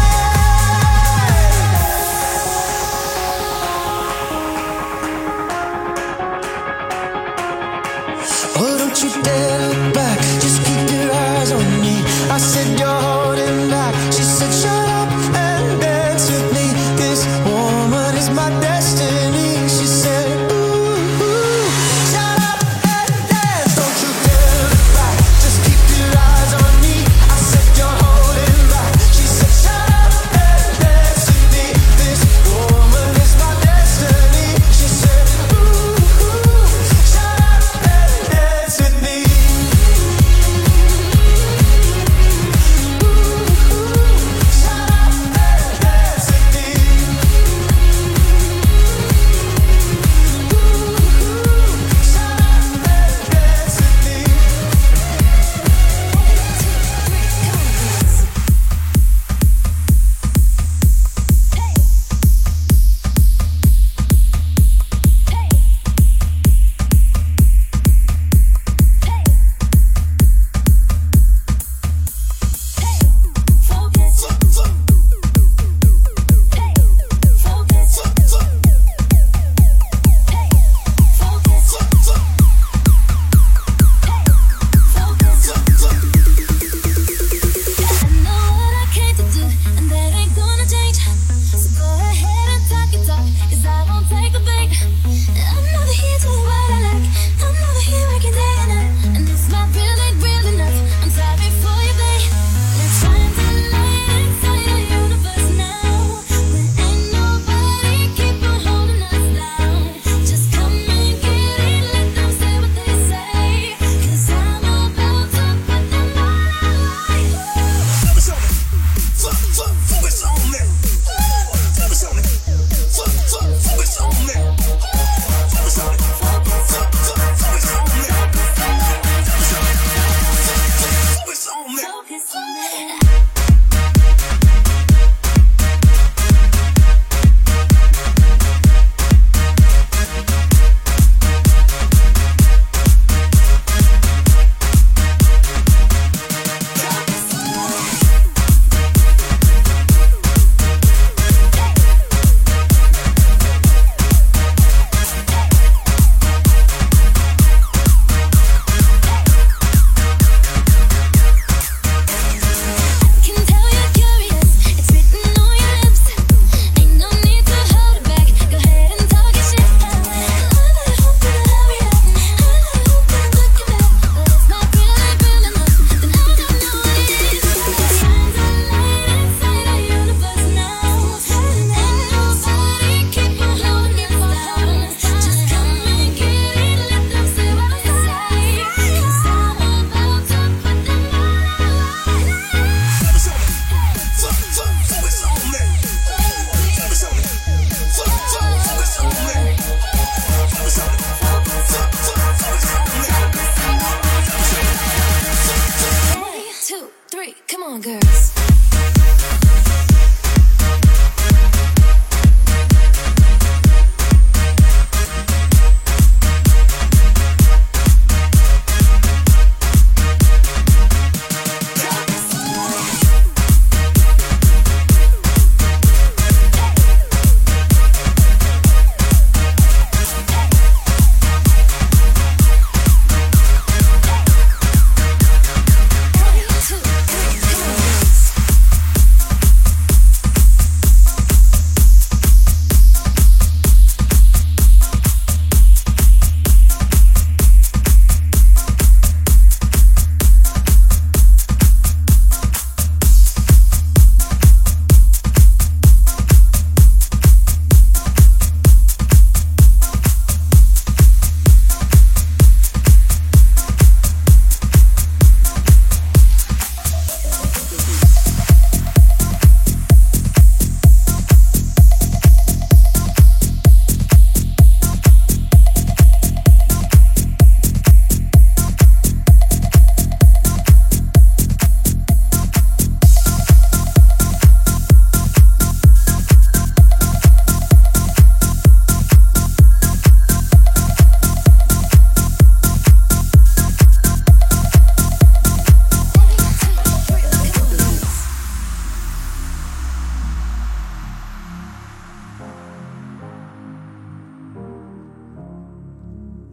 said, oh, don't you dare look back, just keep your eyes on me. I said you're holding back. She said shut up and dance with me. This woman is my destiny. She said ooh, ooh, shut up and dance. Don't you dare look back, just keep your eyes on me. I said you're holding back. She said shut up and dance with me. This woman is my destiny. She said ooh, ooh, shut up and dance with me. Ooh, ooh, shut up and dance with me.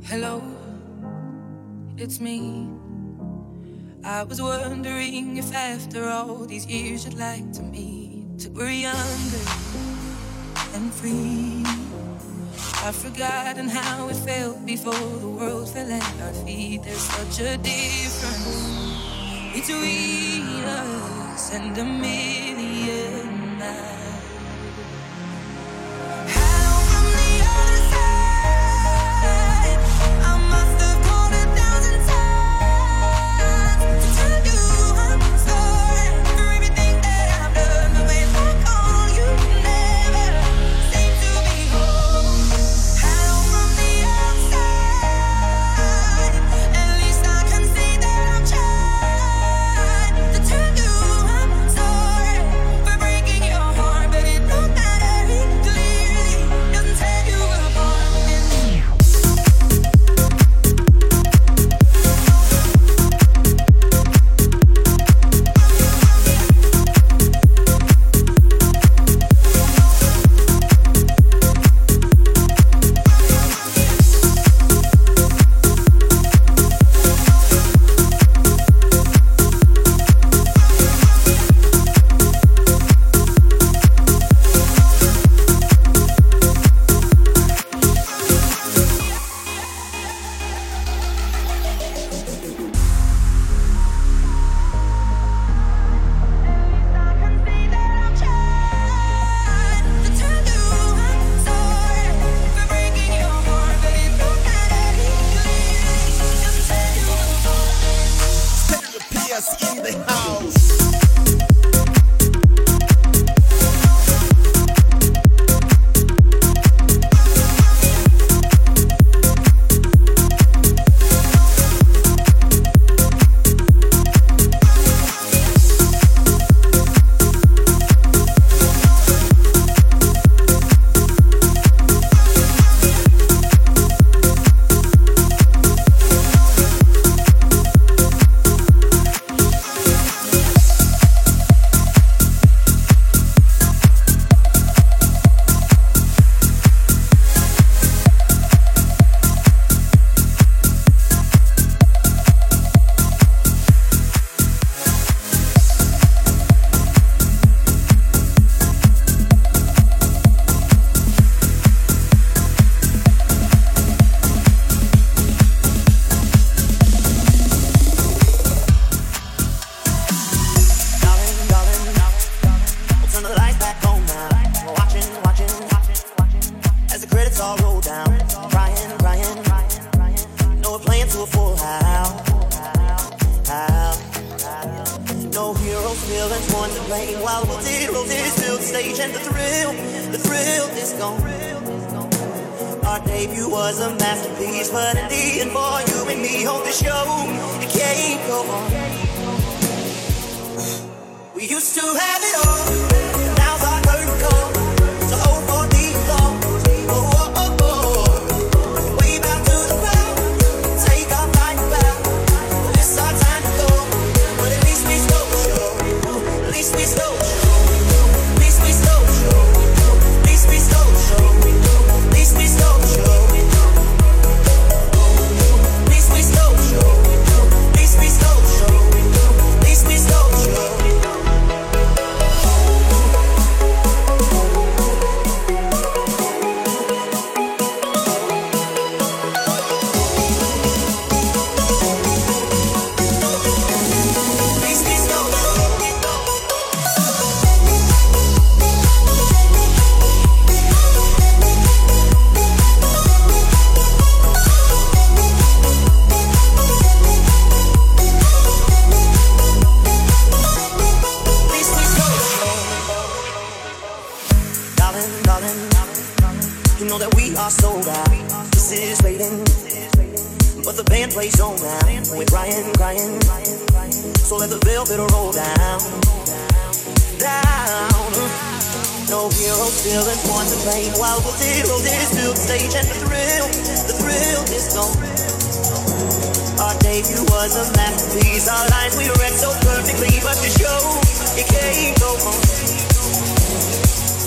Hello, it's me. I was wondering if after all these years you'd like to meet, till we're younger and free. I've forgotten how it felt before the world fell at our feet. There's such a difference between us and a million miles.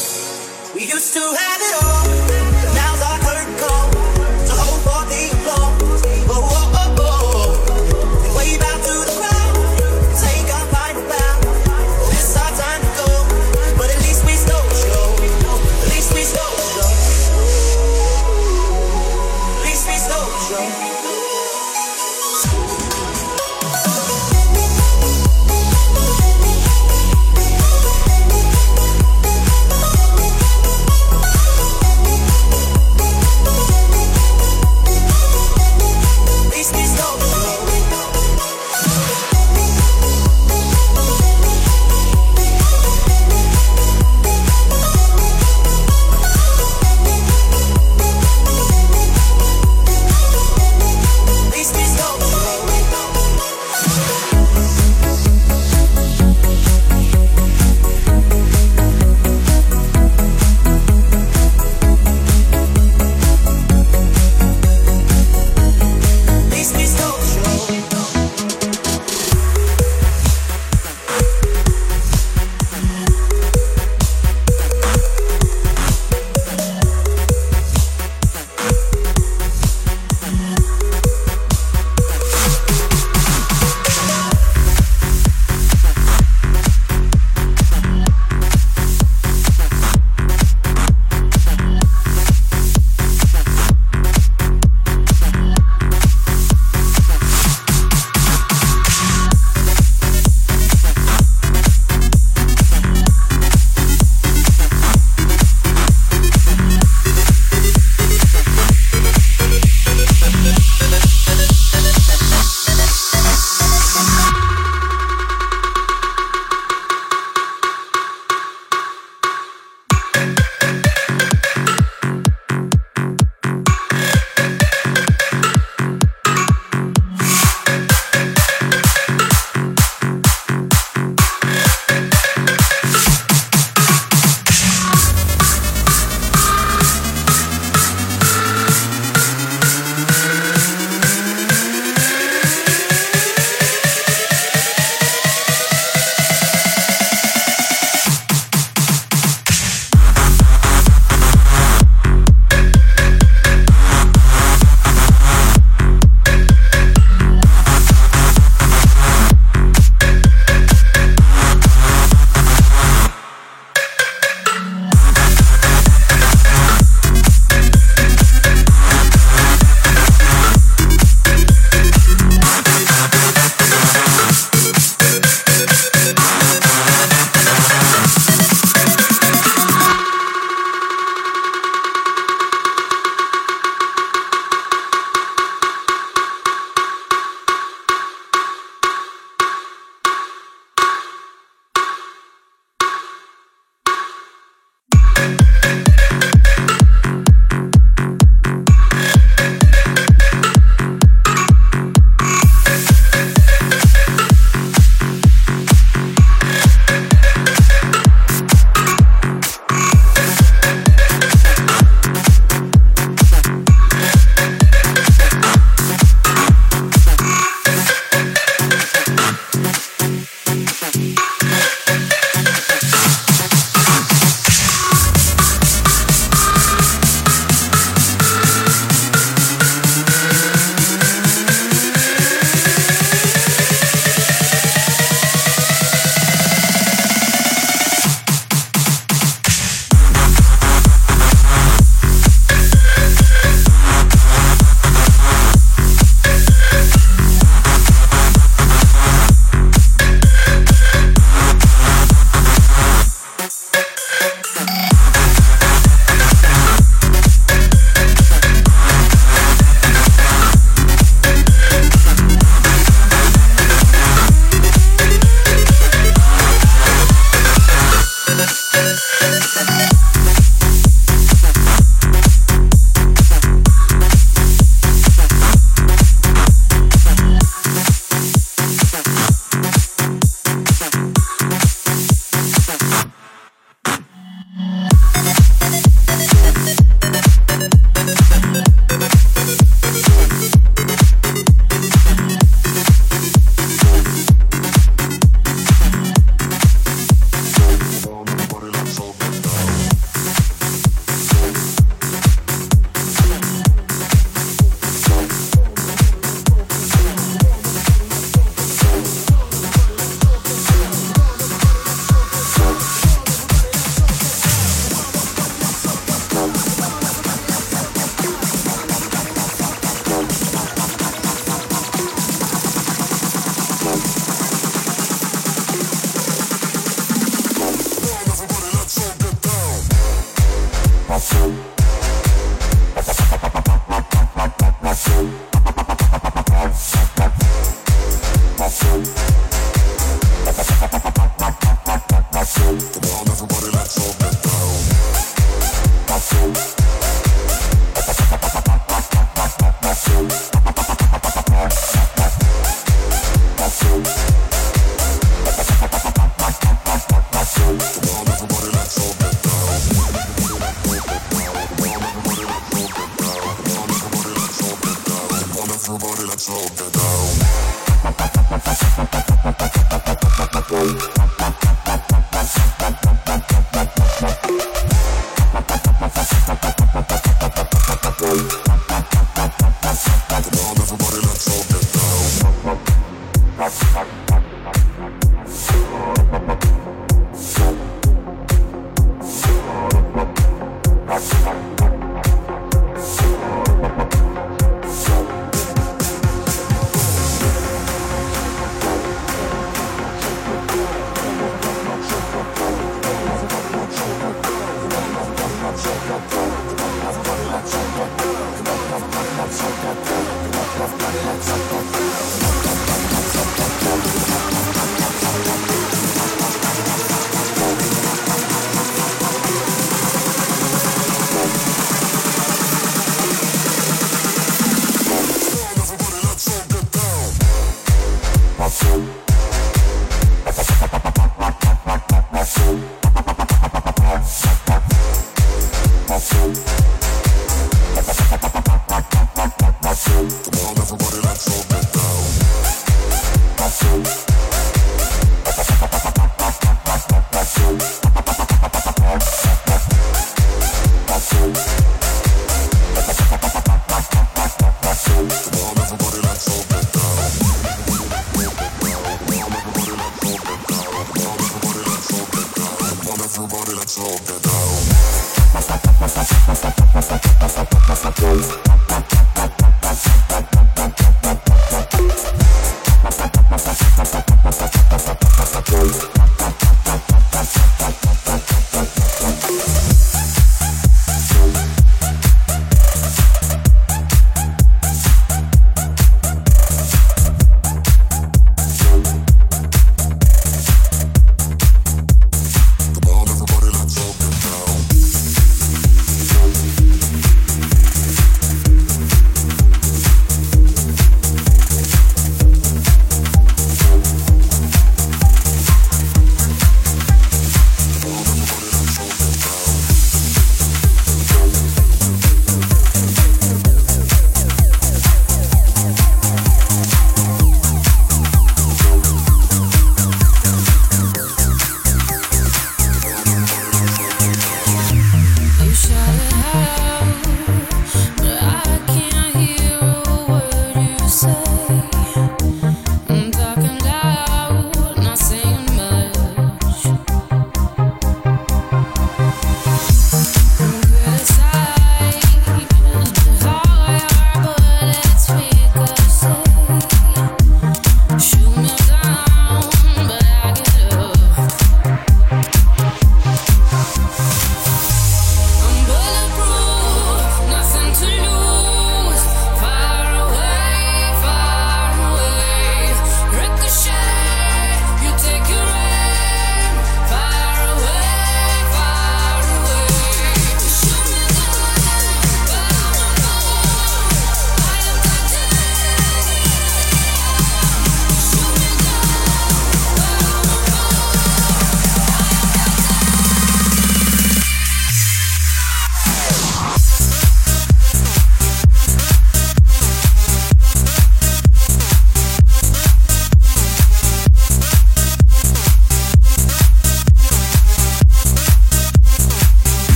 We used to have it all, now's our curtain call. So hold for the applause.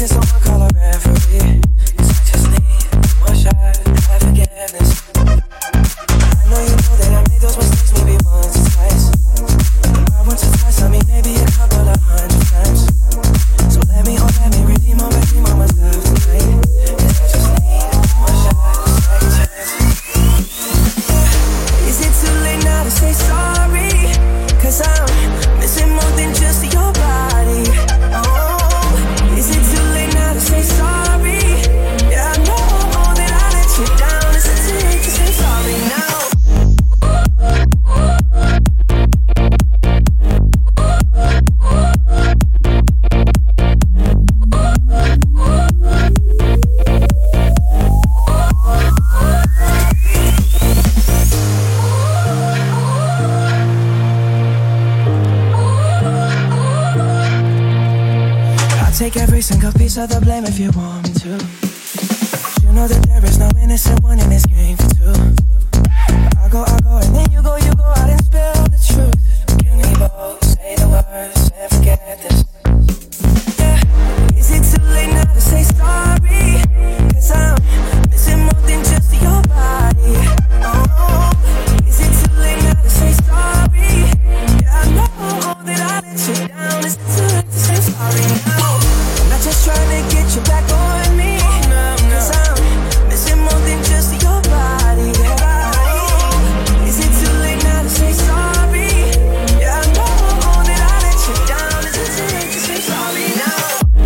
can someone call a referee? 'Cause I just need one shot at forgiveness. I know you know that I made those mistakes maybe once or twice. Not once or twice, I mean maybe a couple of 100 times. So let me redeem on myself tonight. 'Cause I just need one shot, second chance. Is it too late now to say sorry? 'Cause I'm missing more than just your body. Oh, is it too late now to say sorry? Yeah, I know that I let you down. Is it too late to say sorry now? Take every single piece of the blame if you want me to. You know that there is no innocent one in this game for two. I go, and then you go out and spill the truth. Can we both say the words and forget this? Yeah, is it too late now to say sorry? 'Cause I'm missing more than just your body. Oh, is it too late now to say sorry? Yeah, I know that I let you down. Is it too late to say sorry now? Just trying to get you back on me. 'Cause I'm missing more than just your body. Is it too late now to say sorry? Yeah, I know that I let you down. Is it too late to say sorry now?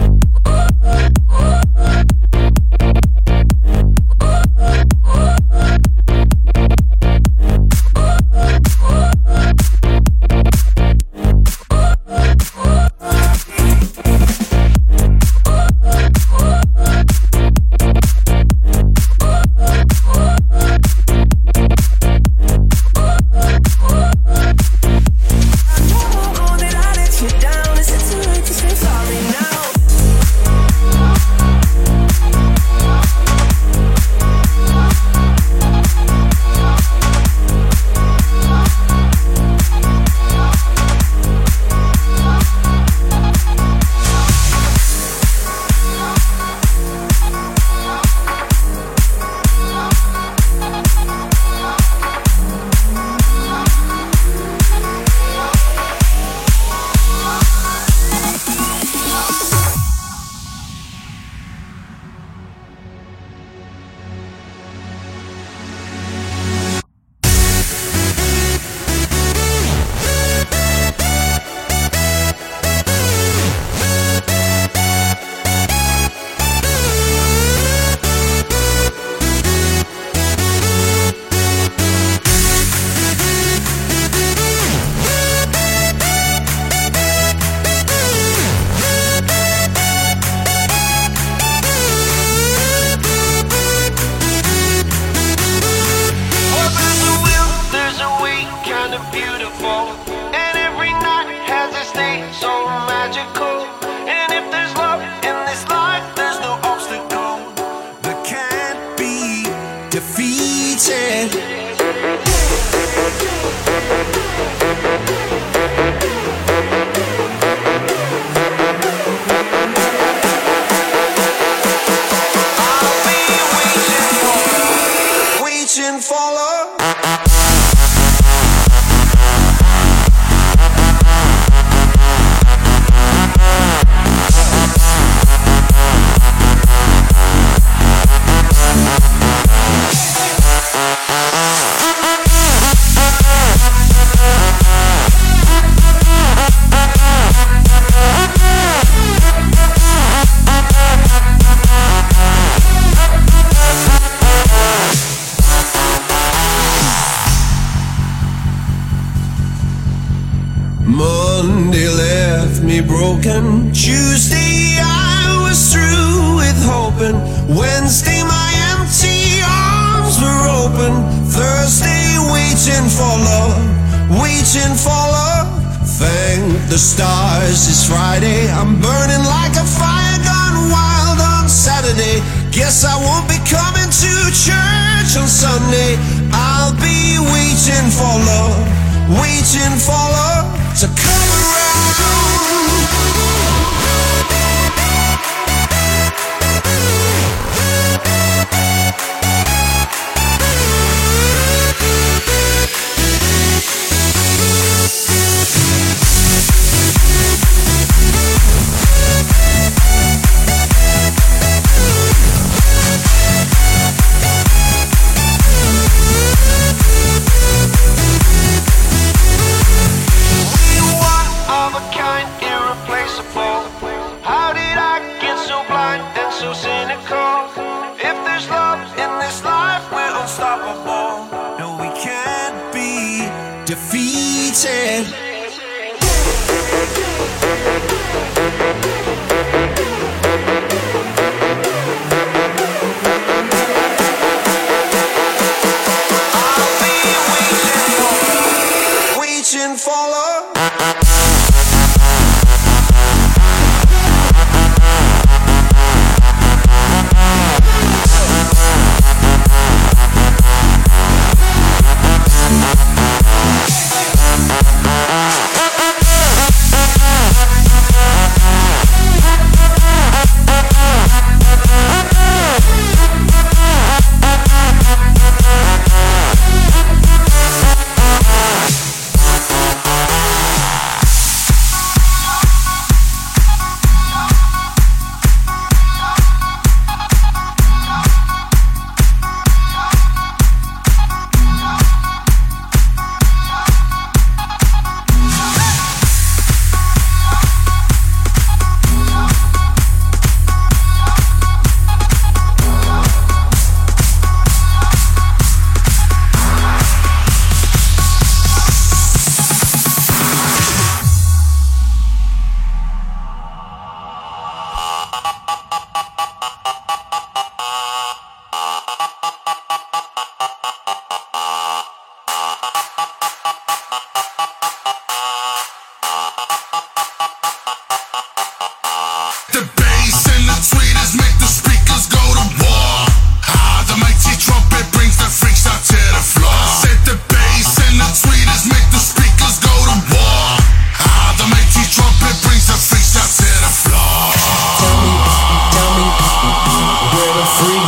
Monday left me broken. Tuesday I was through with hoping. Wednesday my empty arms were open. Thursday waiting for love, waiting for love. Thank the stars it's Friday. I'm burning like a fire gone wild on Saturday. Guess I won't be coming to church on Sunday. I'll be waiting for love, waiting for love to come around.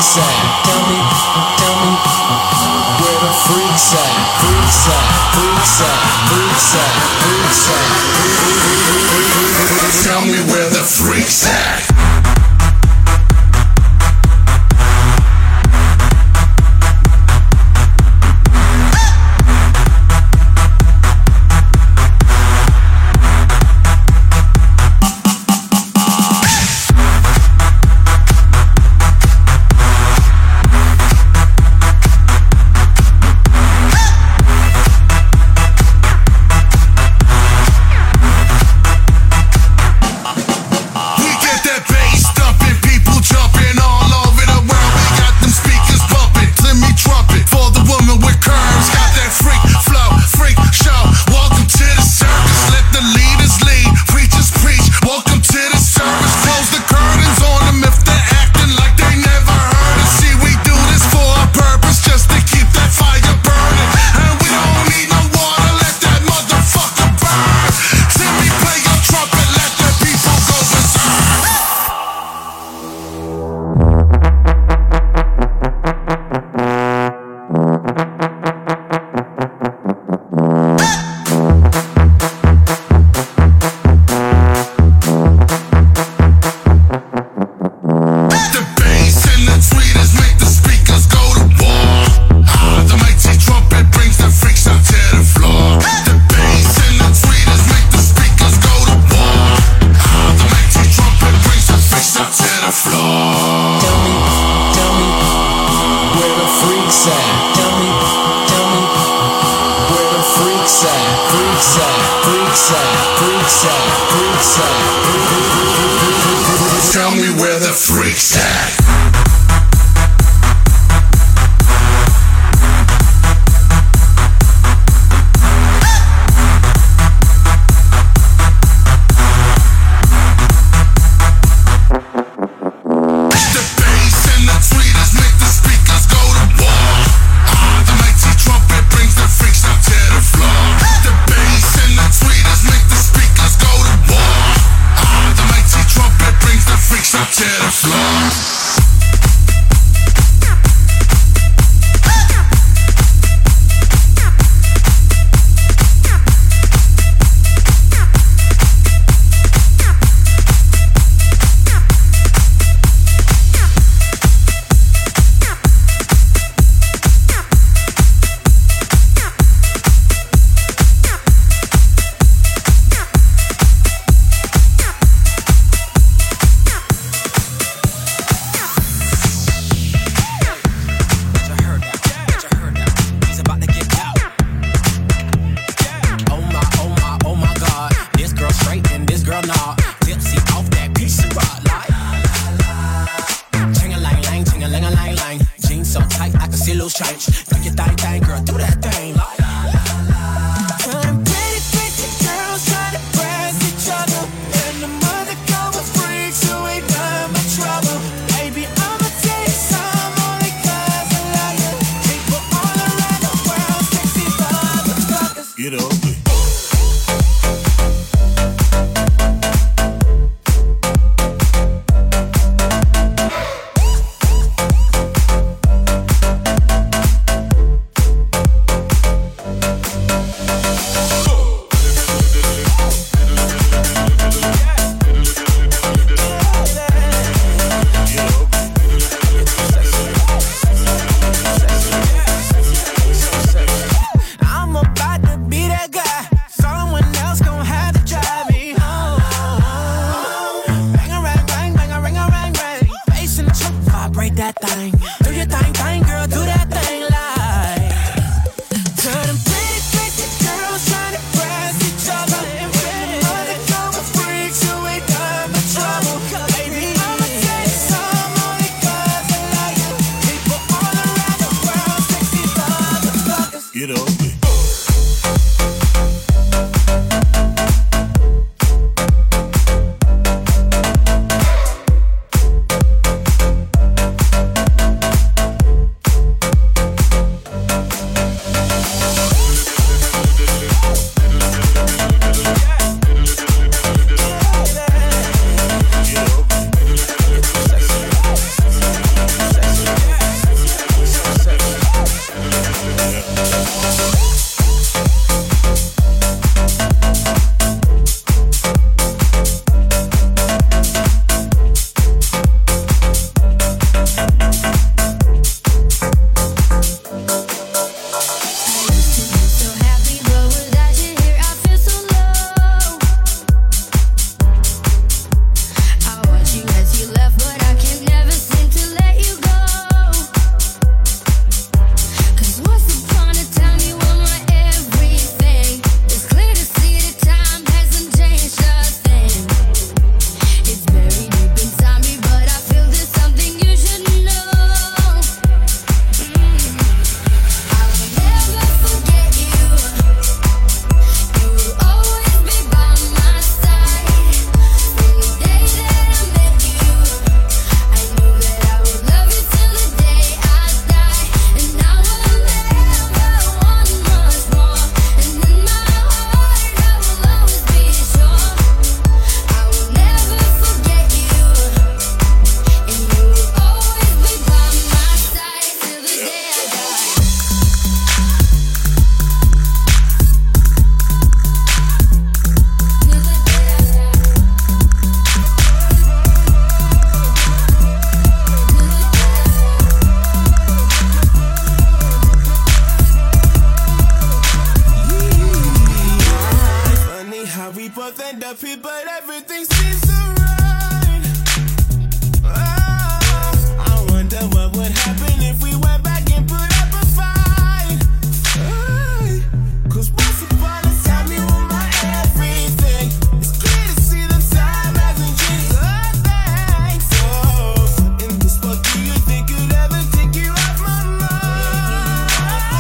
freaks at? Tell me where the freaks at? Freaks at, freaks at, freaks at, freaks at. Tell me where the freaks at? Tell me where the freaks at? happy, but everything seems so right. Oh, I wonder what would happen if we went back and put up a fight. Hey, 'cause once upon a time you were my everything. It's clear to see the time hasn't changed a thing. So, in this spot, do you think you'd ever take you off my mind?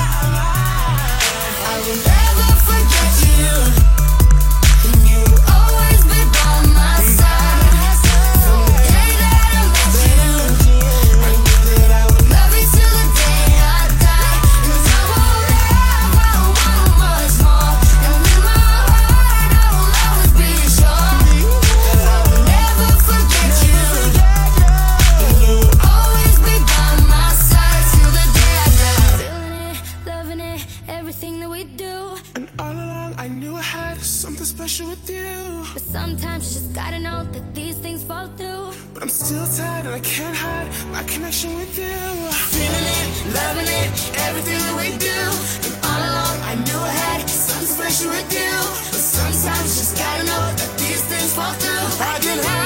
I will never forget you. You'll always be by my side. From the day that I met you, I knew that I would love you till the day I die. 'Cause I won't ever want much more. And in my heart, I will always be sure that I will never forget you. And you'll always be by my side till the day I die. Feeling it, loving it, everything that we do. And all along I knew I had something special with you. But sometimes you just gotta know that these things fall through. But I'm still tired and I can't hide my connection with you. Feeling it, loving it, everything that we do. And all along I knew I had something special with you. But sometimes you just gotta know that these things fall through. I can hide